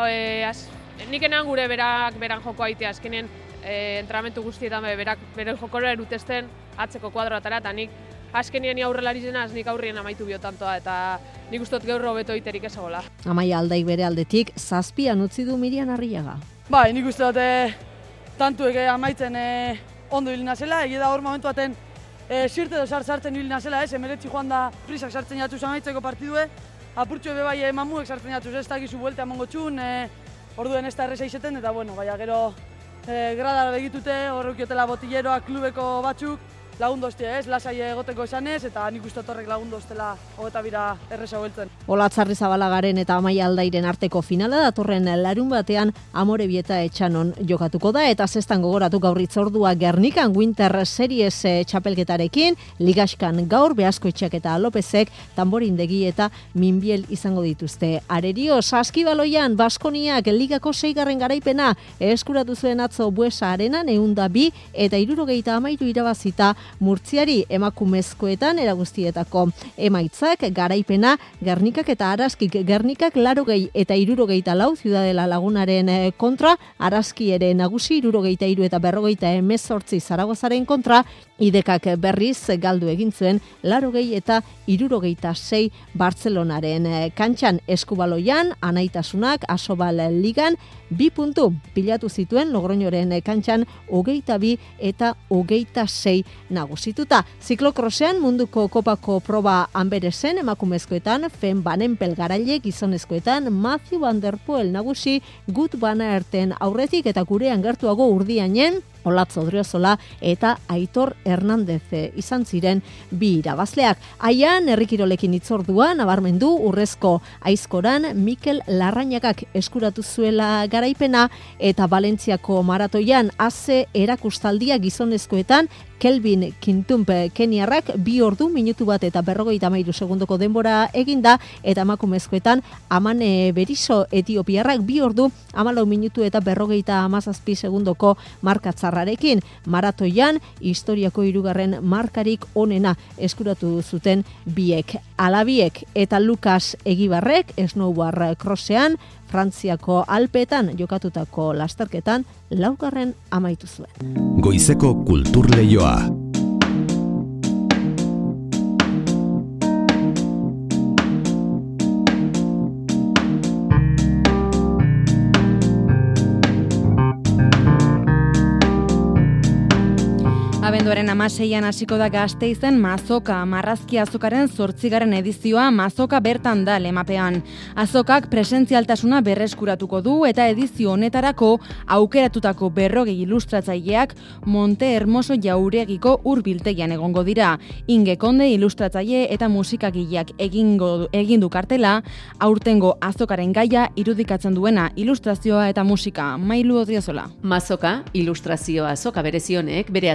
nik enean gure beran joko aitea, azkenean entrenamentu guztietan beren jokora erutesten atzeko kuadroatara, eta nik azkenean aurrelari zenaz, nik aurrien amaitu biotantoa, eta nik uste dut gaur hobeto iterik ezagola. Amaia Aldaik bere aldetik, 7 utzi du Mirian Arriaga. Bai, nik uste dut tantuek amaitzen ondo hilina zela, egia da hor momentu baten sirte edo sartzen hilina zela, emeretzi joan da prisak sartzen jatuz amaitzeko partidue, apurtxo ebe bai mamuek sartzen jatuz, ez dakizu bueltea emango txun, orduen ez da erreza izeten, eta gero gradara begitute, horrekiotela botilleroak klubeko batzuk, lagundu ostia ez, lasai egoteko esanez, eta nik uste horrek lagundu ostela hogeta bira erreza hueltzen. Olatz Arrizabalagaren eta Amaia Aldairen arteko finala datorren larun batean Amorebieta Etxanon jokatuko da, eta zestan gogoratu gaur itzordua Gernikan Winter Series txapelketarekin, Ligaskan gaur Beaskoetxeak eta Lopezek Tamborindegi eta Minbiel izango dituzte. Arerio, Saskibaloian Baskoniak Ligako 6. garaipena eskuratu zuen atzo Buesa Arenan 102 eta 73 irabazita Murtziari emakumezkoetan eraguztietako emaitzak garaipena Gernikak eta Araskik. Gernikak 80 eta 74 Ciudadela Lagunaren kontra, Araski ere nagusi 73 eta 58 Zaragozaren kontra, Idekak berriz galdu egin zuen 80 eta 76 Bartzelonaren kantxan. Eskubaloian Anaitasunak Asobal Ligan 2 puntu pilatu zituen Logroñoren kantxan 22 eta 26 nagusituta. Ziklokrosean munduko kopako proba Anberesen emakumezkoetan, Fen Banenpel garaile gizonezkoetan, Matthew Van Der Poel nagusi Gut Van Aerten aurretik eta gurean gertuago Urdianen Olatz Odriozola eta Aitor Hernandez izan ziren 2 irabazleak. Aian herrikirolekin itzordua nabarmendu urrezko aizkoran Mikel Larrañagak eskuratu zuela garaipena, eta Valentziako maratoian AZ erakustaldia gizonezkoetan Kelvin Kintump Keniarrak 2 ordu minutu bat eta 53 segundoko denbora eginda, eta emakumezkoetan Amane Beriso Etiopiarrak 2 ordu 14 minutu eta 57 segundoko markatzarrarekin. Maratoian historiako 3. markarik onena eskuratu zuten biek. Alabiek eta Lukas Egibarrek snowboard crossean Frantziako Alpeetan jokatutako lasterketan 4. amaitu zuen. Goizeko kultur leioa. Abenduaren 16an hasiko da Gasteizen Mazoka, marrazki azokaren 8. edizioa Mazoka bertan da lemapean. Azokak presentzialtasuna berreskuratuko du eta edizio honetarako aukeratutako 40 ilustratzaileak Monte Hermoso Jauregiko hurbiltegian egongo dira. Inge Konde ilustratzaile eta musikagileak egin du kartela, aurtengo azokaren gaia irudikatzen duena ilustrazioa eta musika. Mailu Odriozola. Mazoka, ilustrazioa azoka berezionek bere ateak zabaldu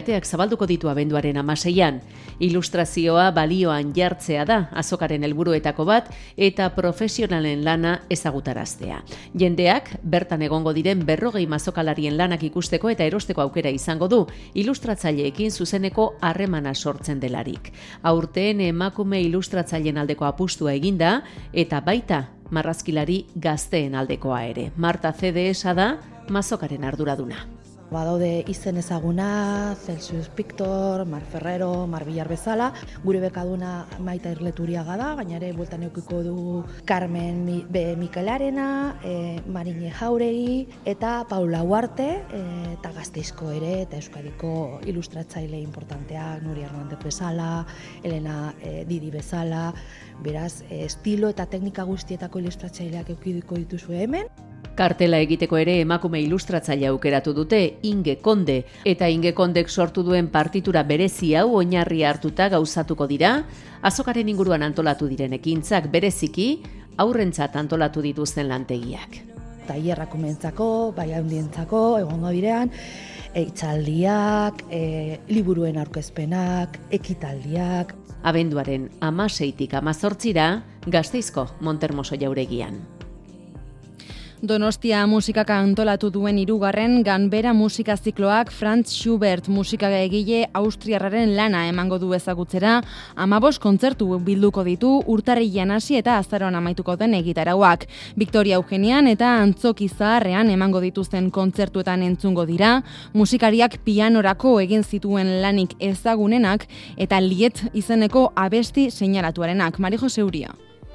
zabalduko ditu abenduaren 16an. Ilustrazioa balioan jartzea da azokaren helburuetako bat eta profesionalen lana ezagutaraztea. Jendeak bertan egongo diren 40 azokalarien lanak ikusteko eta erosteko aukera izango du, ilustratzaileekin zuzeneko harremana sortzen delarik. Aurten emakume ilustratzaileen aldeko apustua eginda eta baita marrazkilari gazteen aldekoa ere. Marta CDS da mazokaren arduraduna. Badaude izen ezaguna, Celsius Pictor, Mar Ferrero, Mar Villar bezala, gure bekaduna Maita Irleturiaga da, baina ere bueltan eukiko du Carmen Mikelarena, Marine Jauregi eta Paula Huarte, eta Gasteizko ere, eta Euskadiko ilustratzaile importanteak, Nuria Hernandez bezala, Elena Didi bezala, beraz, estilo eta teknika guztietako ilustratzaileak eukidiko dituzu hemen. Kartela egiteko ere emakume ilustratzaile aukeratu dute, Inge Konde, eta Inge Kondek sortu duen partitura berezi hau oinarri hartuta gauzatuko dira, azokaren inguruan antolatu diren ekintzak bereziki, aurrentzat antolatu dituzten lantegiak. Tailerrak umentzako, bai handientzako, egongo direan, hitzaldiak, liburuen aurkezpenak, ekitaldiak. Abenduaren 16tik 18ra, Gasteizko Montermoso jauregian. Donostia musikak antolatu duen 3. Ganbera musika zikloak Franz Schubert musikaegile austriarraren lana emango du ezagutzera, 15 kontzertu bilduko ditu urtarrilean hasi eta azaroan amaituko den egitarauak. Victoria Eugenian eta Antzoki Zaharrean emango dituzten kontzertuetan entzungo dira, musikariak pianorako egin zituen lanik ezagunenak eta Liet izeneko abesti seinalatuarenak. Mari Jose Uria.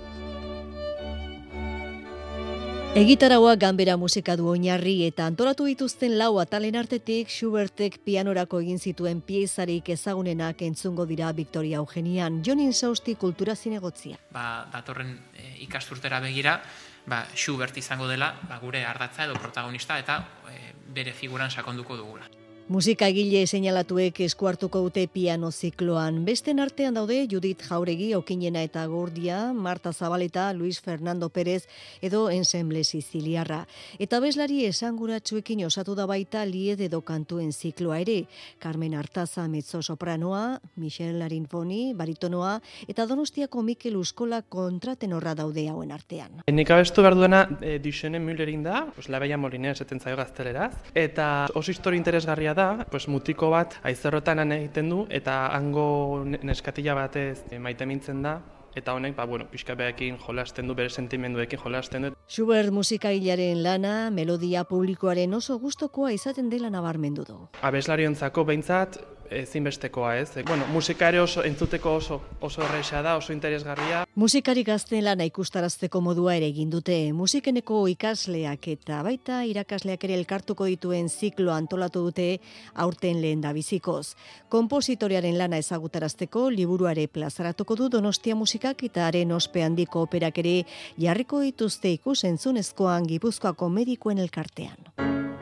Egitaraua Ganbera musika du oinarri eta antolatu dituzten 4 atalen artetik Schubertek pianorako egin zituen piezarik ezagunenak entzungo dira Victoria Eugenian. Jonin Sausti kultura zinegotzia. Datorren ikasturtera begira, Schubert izango dela gure ardatza edo protagonista eta bere figuran sakonduko dugula. Musikagile seinalatuek esku hartuko dute piano zikloan. Besten artean daude Judith Jauregi, Okinena eta Gordia, Marta Zabaleta, Luis Fernando Pérez edo Ensemble Siciliarra. Eta abeslari esanguratsuekin osatu da baita Lied edo kantuen zikloa ere. Carmen Artaza mezzo-sopranoa, Michel Larinfoni, baritonoa eta Donostiako Mikel Uskola kontratenorra daude hauen artean. Nik abestu behar duena Duchenne Müllerin da, La Bella Molinera esaten zaio gazteleraz, eta oso historia interesgarria da, mutiko bat aizerrotan egiten du eta hango neskatila batez maite mintzen da. Eta honek, pixka behakin jolasten du, bere sentimenduekin jolasten du. Schubert musikagilaren lana, melodia publikoaren oso gustokoa izaten dela nabarmendu du. Abeslariontzako behintzat, ezinbestekoa ez. Musika ere oso entzuteko oso erresa da, oso interesgarria. Musikari gazten lana ikustarazteko modua ere egin dute. Musikeneko ikasleak eta baita irakasleak ere elkartuko dituen ziklo antolatu dute aurten lehendabizikoz. Konpositorearen lana ezagutarazteko liburuare plazaratuko du Donostia musikak eta haren ospe handiko operak ere jarriko dituzte ikus-entzunezkoan Gipuzkoako medikuen elkartean.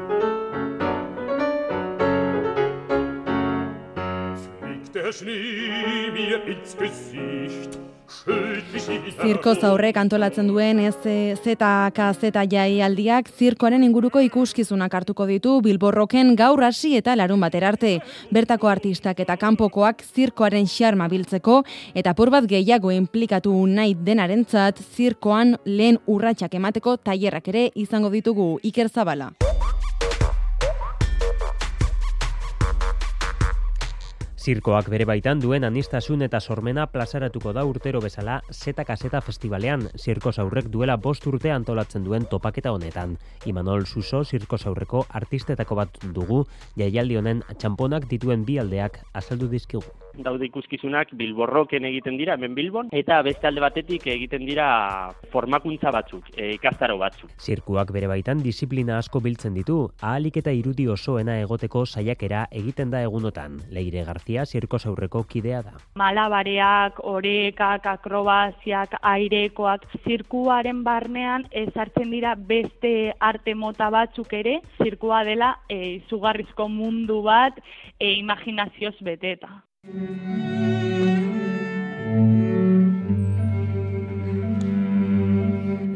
Zirko zaurrek antolatzen duen ZKZ jaialdiak zirkoaren inguruko ikuskizunak hartuko ditu Bilborroken gaur hasi eta larun batera arte. Bertako artistak eta kanpokoak zirkoaren xarma biltzeko eta apur bat gehiago inplikatu nahi denarentzat zirkoan lehen urratsak emateko tailerrak ere izango ditugu. Iker Zabala. Zirkoak bere baitan duen anistasun eta sormena plazaratuko da urtero bezala ZKZ Festivalean. Zirko zaurrek duela 5 urte antolatzen duen topaketa honetan. Imanol Suso zirko zaurreko artistetako bat dugu, jaialdi honen txamponak dituen bi aldeak azaldu dizkigu. Daude ikuskizunak Bilborroken egiten dira, hemen Bilbon, eta beste alde batetik egiten dira formakuntza batzuk, ikastaro batzuk. Zirkuak bere baitan disiplina asko biltzen ditu, ahalik eta irudi osoena egoteko saiakera egiten da egunotan. Leire Garzia zirko zaurreko kidea da. Malabareak, orekak, akrobaziak, airekoak, zirkuaren barnean sartzen dira beste arte mota batzuk ere, zirkua dela izugarrizko mundu bat imaginazioz beteta.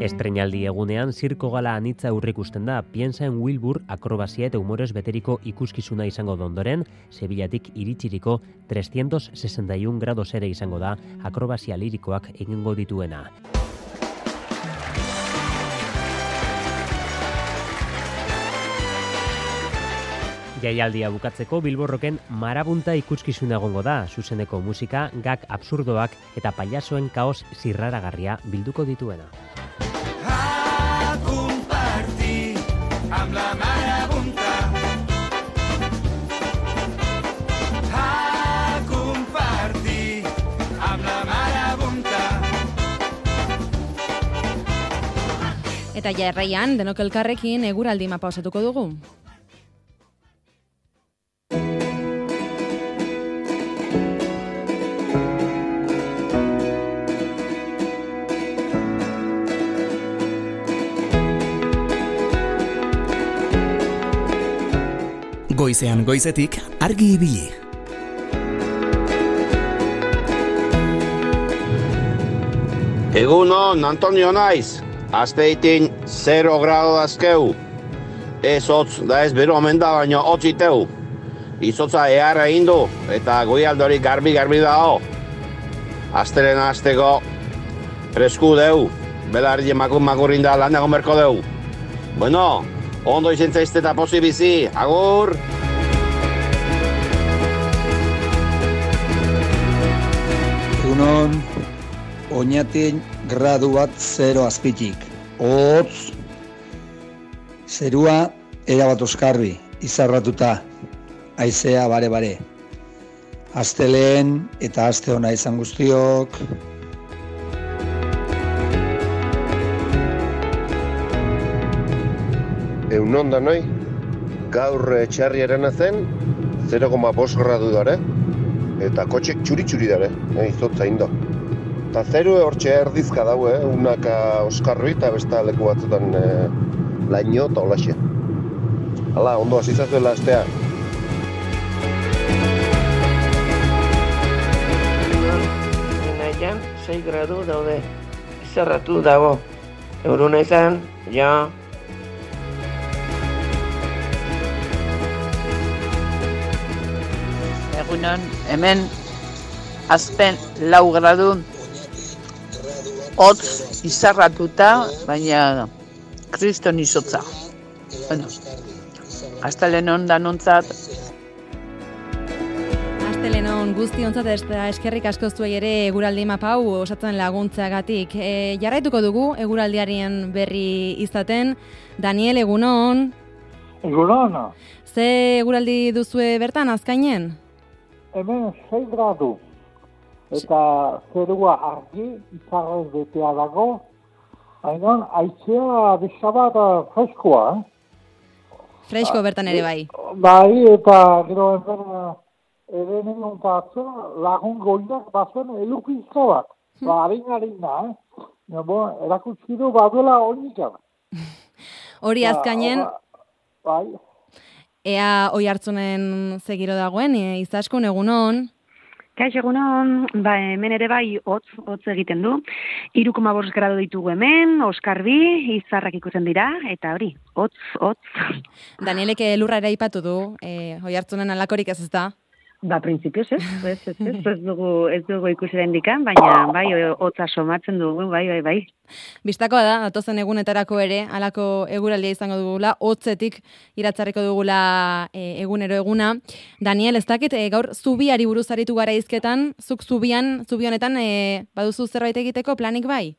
Estreinaldi egunean zirko gala anitza aurreikusten da, Piensa en Wilbur akrobazia eta humorez beteriko ikuskizuna izango da ondoren, Sevillatik iritsiriko 361 grados ere izango da akrobazia lirikoak egingo dituena. Jaialdia bukatzeko Bilborroken marabunta ikuskizuna egongo da, zuzeneko musika, gag absurdoak eta pailazoen kaos zirraragarria bilduko dituena. A compartir amb la marabunta. A compartir amb la marabunta. Eta jarraian, denok elkarrekin eguraldi mapa osatuko dugu. Goizean goizetik argi ibili. Egunon, Antonio naiz. Azpeitin 0 grado dazkeu. Ez hotz, da ez bero omen da, baina hotz iteu. Izotza eharra indu, eta goialdori garbi dao. Aztelena azteko fresku deu. Belarri makurrin da lan egon berko deu. Bueno, ondo izen zaizte eta posi bizi, agur! Egunon, oinatin gradu bat 0 azpitik. Hotz, zerua erabat oskarbi, izarratuta, haizea bare. Asteleen eta aste ona izan guztiok. Egunon da noi, gaur txarriaren zen 0,5 gradu dare, eta kotxek txuri dare, izotza indo. Eta zeru hortxe erdizka daue, unaka oskarri eta besta leku batzutan laino eta holaxe. Hala, ondo azizazuela astea. Naian 6 gradu daude, izarratu dago. Euruna izan, ja. Egunon, hemen azpen 4 gradu hotz izarratuta, baina kriston izotza. Bueno, astelenon danontzat. Astelenon guztiontzat eta eskerrik asko zuei ere eguraldi mapa hau osatzen laguntzagatik. Jarraituko dugu eguraldiaren berri izaten. Daniel, egunon. Egunon. Ze eguraldi duzue bertan azkainen? Hemen 6 gradu. Eta zerua argi, izarrez betea dago, hain haizea bisabat freskoa. Fresko bertan ere bai. Bai, eta gero ere nion batzu, lagun goiak bazuen elukizko bat. Harina, erakutsi du baduela oinika. Hori azkainen, bai. Ea oi hartzunen zegiro dagoen, izaskun egunon. Kaixo egunon, hemen ere bai hotz egiten du. 3,5 gradu ditugu hemen, oskarbi, izarrak ikusten dira, eta hori, hotz. Danielek lurra ere aipatu du, oi hartzunen alakorik ez da? Printzipioz ez dugu ikusiren dikan, baina bai, hotza somatzen dugu, bai. Bistakoa da, datozen egunetarako ere, halako eguraldia izango dugula, hotzetik iratzarriko dugula egunero eguna. Daniel, ez dakit, gaur zubiari buruz aritu gara izketan, zuk zubionetan baduzu zerbait egiteko planik bai?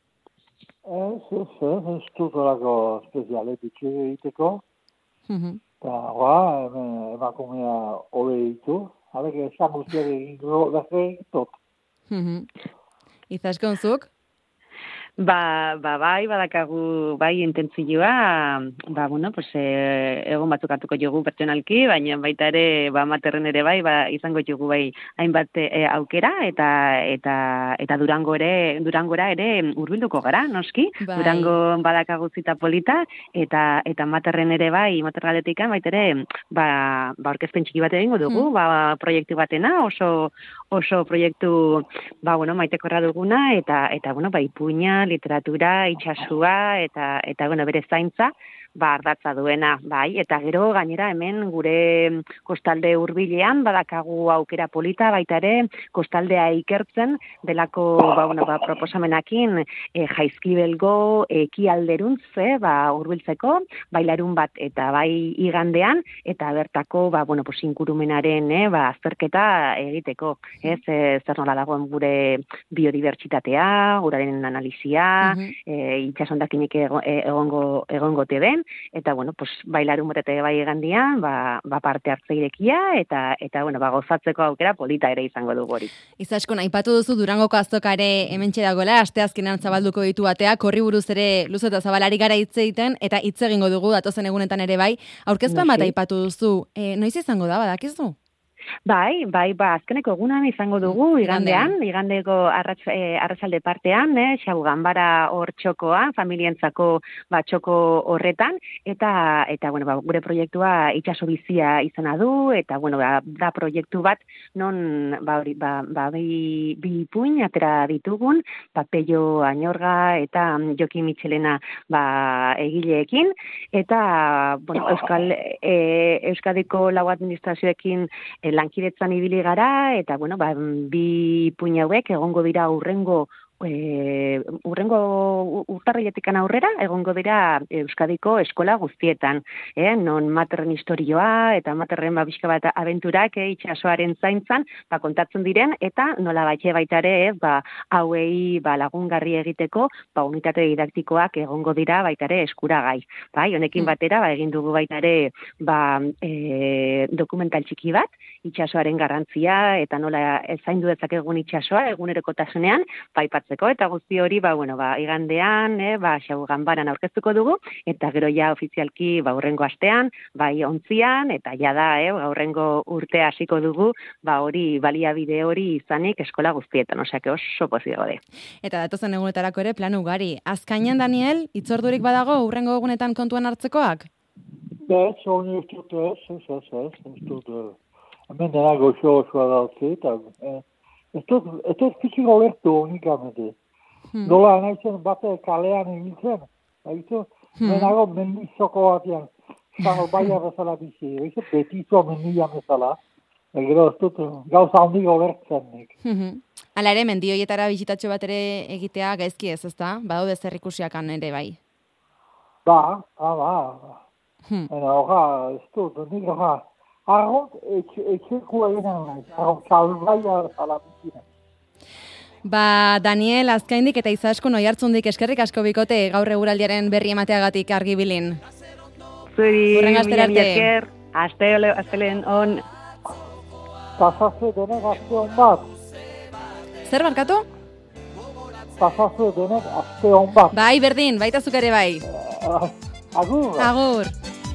Ez dut horako espezialetik egiteko. Eta, emakumea hobe ditu. Habek esan guztiak egingo daze tot. Izaskonzuk? Bai, badakagu bai intentzioa, egon batzuk hartuko jogu pertsonalki, baina baita ere, materren ere bai, izango jogu bai hainbat aukera, eta Durangora ere hurbilduko gara, noski? Bai. Durango badakagu zita polita, eta materren ere bai, materraletikan baita ere, orkezpen txiki bat egingo dugu, proiektu batena, oso proiektu, maitekorra duguna, eta ipuina, literatura, itsasua eta bueno, bere zaintza, ardatza duena, bai, eta gero gainera hemen gure kostalde hurbilean badakagu aukera polita baita ere kostaldea ikertzen delako proposamenakin Jaizkibelgo ekialderuntz hurbiltzeko, bai larun bat eta bai igandean eta bertako ingurumenaren azterketa egiteko, zer nola dagoen gure biodibertsitatea, guraren analizia, itsasondakinik egongote den, eta bai larun bat eta bai igandean parte hartze irekia eta gozatzeko aukera polita ere izango dugu hori. Izaskon, aipatu duzu Durangoko azoka ere hementxe dagoela, asteazkenean zabalduko ditu ateak, horri buruz ere luze eta zabalari gara hitz egiten, eta hitz egingo dugu datozen egunetan ere bai. Aurkezpen bat aipatu duzu, noiz izango da, badakizu? Bai, azkeneko egunan izango dugu, igandeko arratsalde partean, xau ganbara hor txokoan, familientzako txoko horretan, eta gure proiektua itsaso bizia izena du, eta da proiektu bat non bi ipuin atera ditugun, Peio Añorga eta Joki Michelena egileekin, eta Euskadiko lau administrazioekin lankidetzan ibili gara, eta bi ipuin hauek egongo dira urrengo urtarriletikan aurrera, egongo dira Euskadiko eskola guztietan, non materren historioa eta materren bizka bat abenturak itsasoaren zaintzan kontatzen diren, eta nola baita ere hauei lagungarri egiteko unitate didaktikoak egongo dira baita ere eskuragai. Honekin batera egin dugu baita ere dokumental txiki bat, itsasoaren garrantzia eta nola zaindu dezakegun itsasoa egunerokotasunean, eta guzti hori igandean, xau ganbaran aurkeztuko dugu, eta gero ja ofizialki hurrengo astean, ontzian, eta da hurrengo urtea hasiko dugu, hori baliabide hori izanik eskola guztietan, osea, oso pozik gaude. Eta datozen egunetarako ere plan ugari. Azkainan, Daniel, hitzordurik badago hurrengo egunetan kontuan hartzekoak? Ez, honi ez dut, hemen dena goxo-goxoa dautze, eta ez dut piziko lertu unikamente. Nola naizen bate kalean egintzen, menago mendizoko batean, zango baia bezala bizi, betizo mendian bezala, gero ez dut gauza handiko lertzenik. Hala ere, mendioietara bizitatxo bat ere egitea gaizki ez, ezta? Badaude zer ikusiakan ere bai. Ez dut, nik arront etxeko eginen nahi, arront salbaia bezala bizinen. Daniel, Azkaindik eta Izaskun Oiartzundik eskerrik asko bikote gaur eguraldiaren berri emateagatik Argibilin. Zuri, milesker, astelen on. Pasazue denek aste hon bat. Zer barkatu? Pasazue denek aste hon bat. Bai, berdin, baita zuk ere bai. Agur. Agur.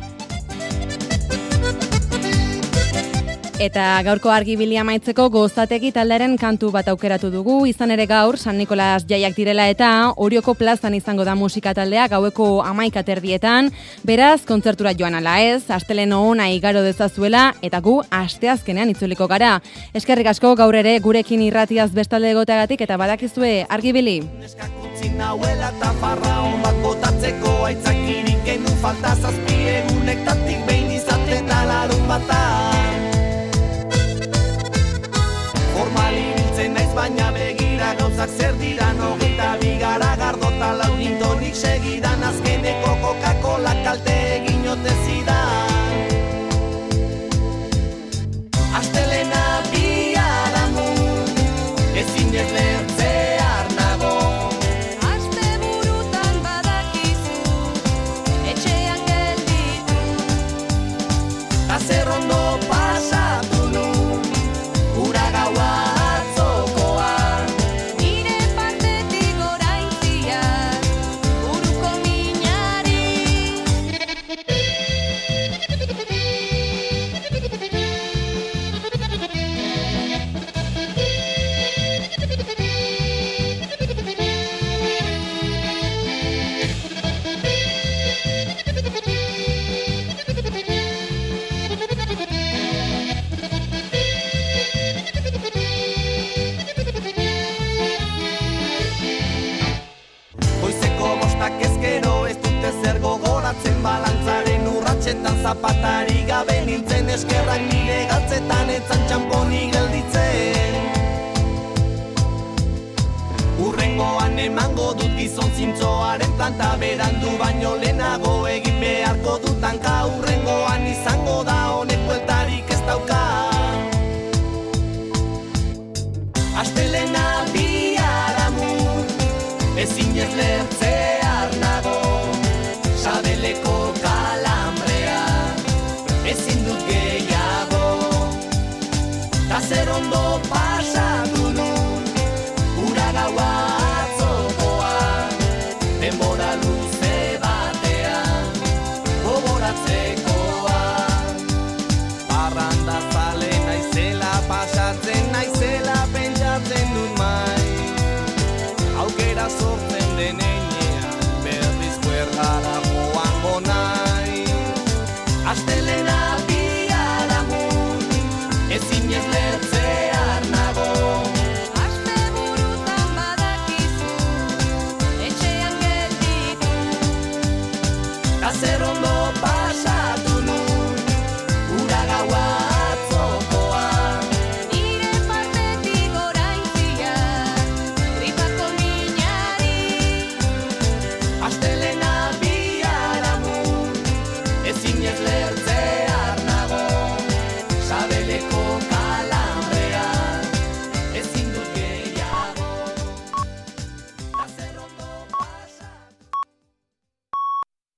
Eta gaurko Argibilia amaitzeko Gozategi taldearen kantu bat aukeratu dugu, izan ere gaur San Nikolas jaiak direla eta Orioko plazan izango da musika taldea gaueko 11:00, beraz kontzertura joan ala ez, asteleno ona igaro dezazuela eta gu asteazkenean itzuliko gara. Eskerrik asko gaur ere gurekin irratiaz bestalde egoteagatik eta badakizue Argibili. Nauela eta farra hon bat botatzeko aitzakirik genuen falta zazpi egunektatik behin izaten alarun batan. Formali biltzen naiz baina begira gauzak zer dira, 22 gara gardota launintonik segidan, azkeneko Coca-Cola kalte egin ote zidan. Astelena biharamun, ezin ez lertzear nago. Aste burutan badakizu, etxean geldi zapatari gabe nintzen, eskerrak nire galtzetan etzan txamponi gelditzen. Urrengoan emango dut gizon zintzoaren planta, berandu baino lehenago egin beharko dutanka. Urrengoan izango da honek bueltarik ez dauka. Astelena biharamun, ezin ez lertzear nago, sabeleko kalambrea, ezin dut gehiago. Ta zer ondo pasatu nun, ura gaua atzokoa, denbora luze batean, gogoratzekoa. Parranda zale naizela, pasatzen naizela, pentsatzen dut mai. Aukera sortzen denean, berriz kuergara joango nahi. Astelena biharamun, ezin ez lertzear nago. Asteburutan badakizu, etxean gelditu. Ta zer ondo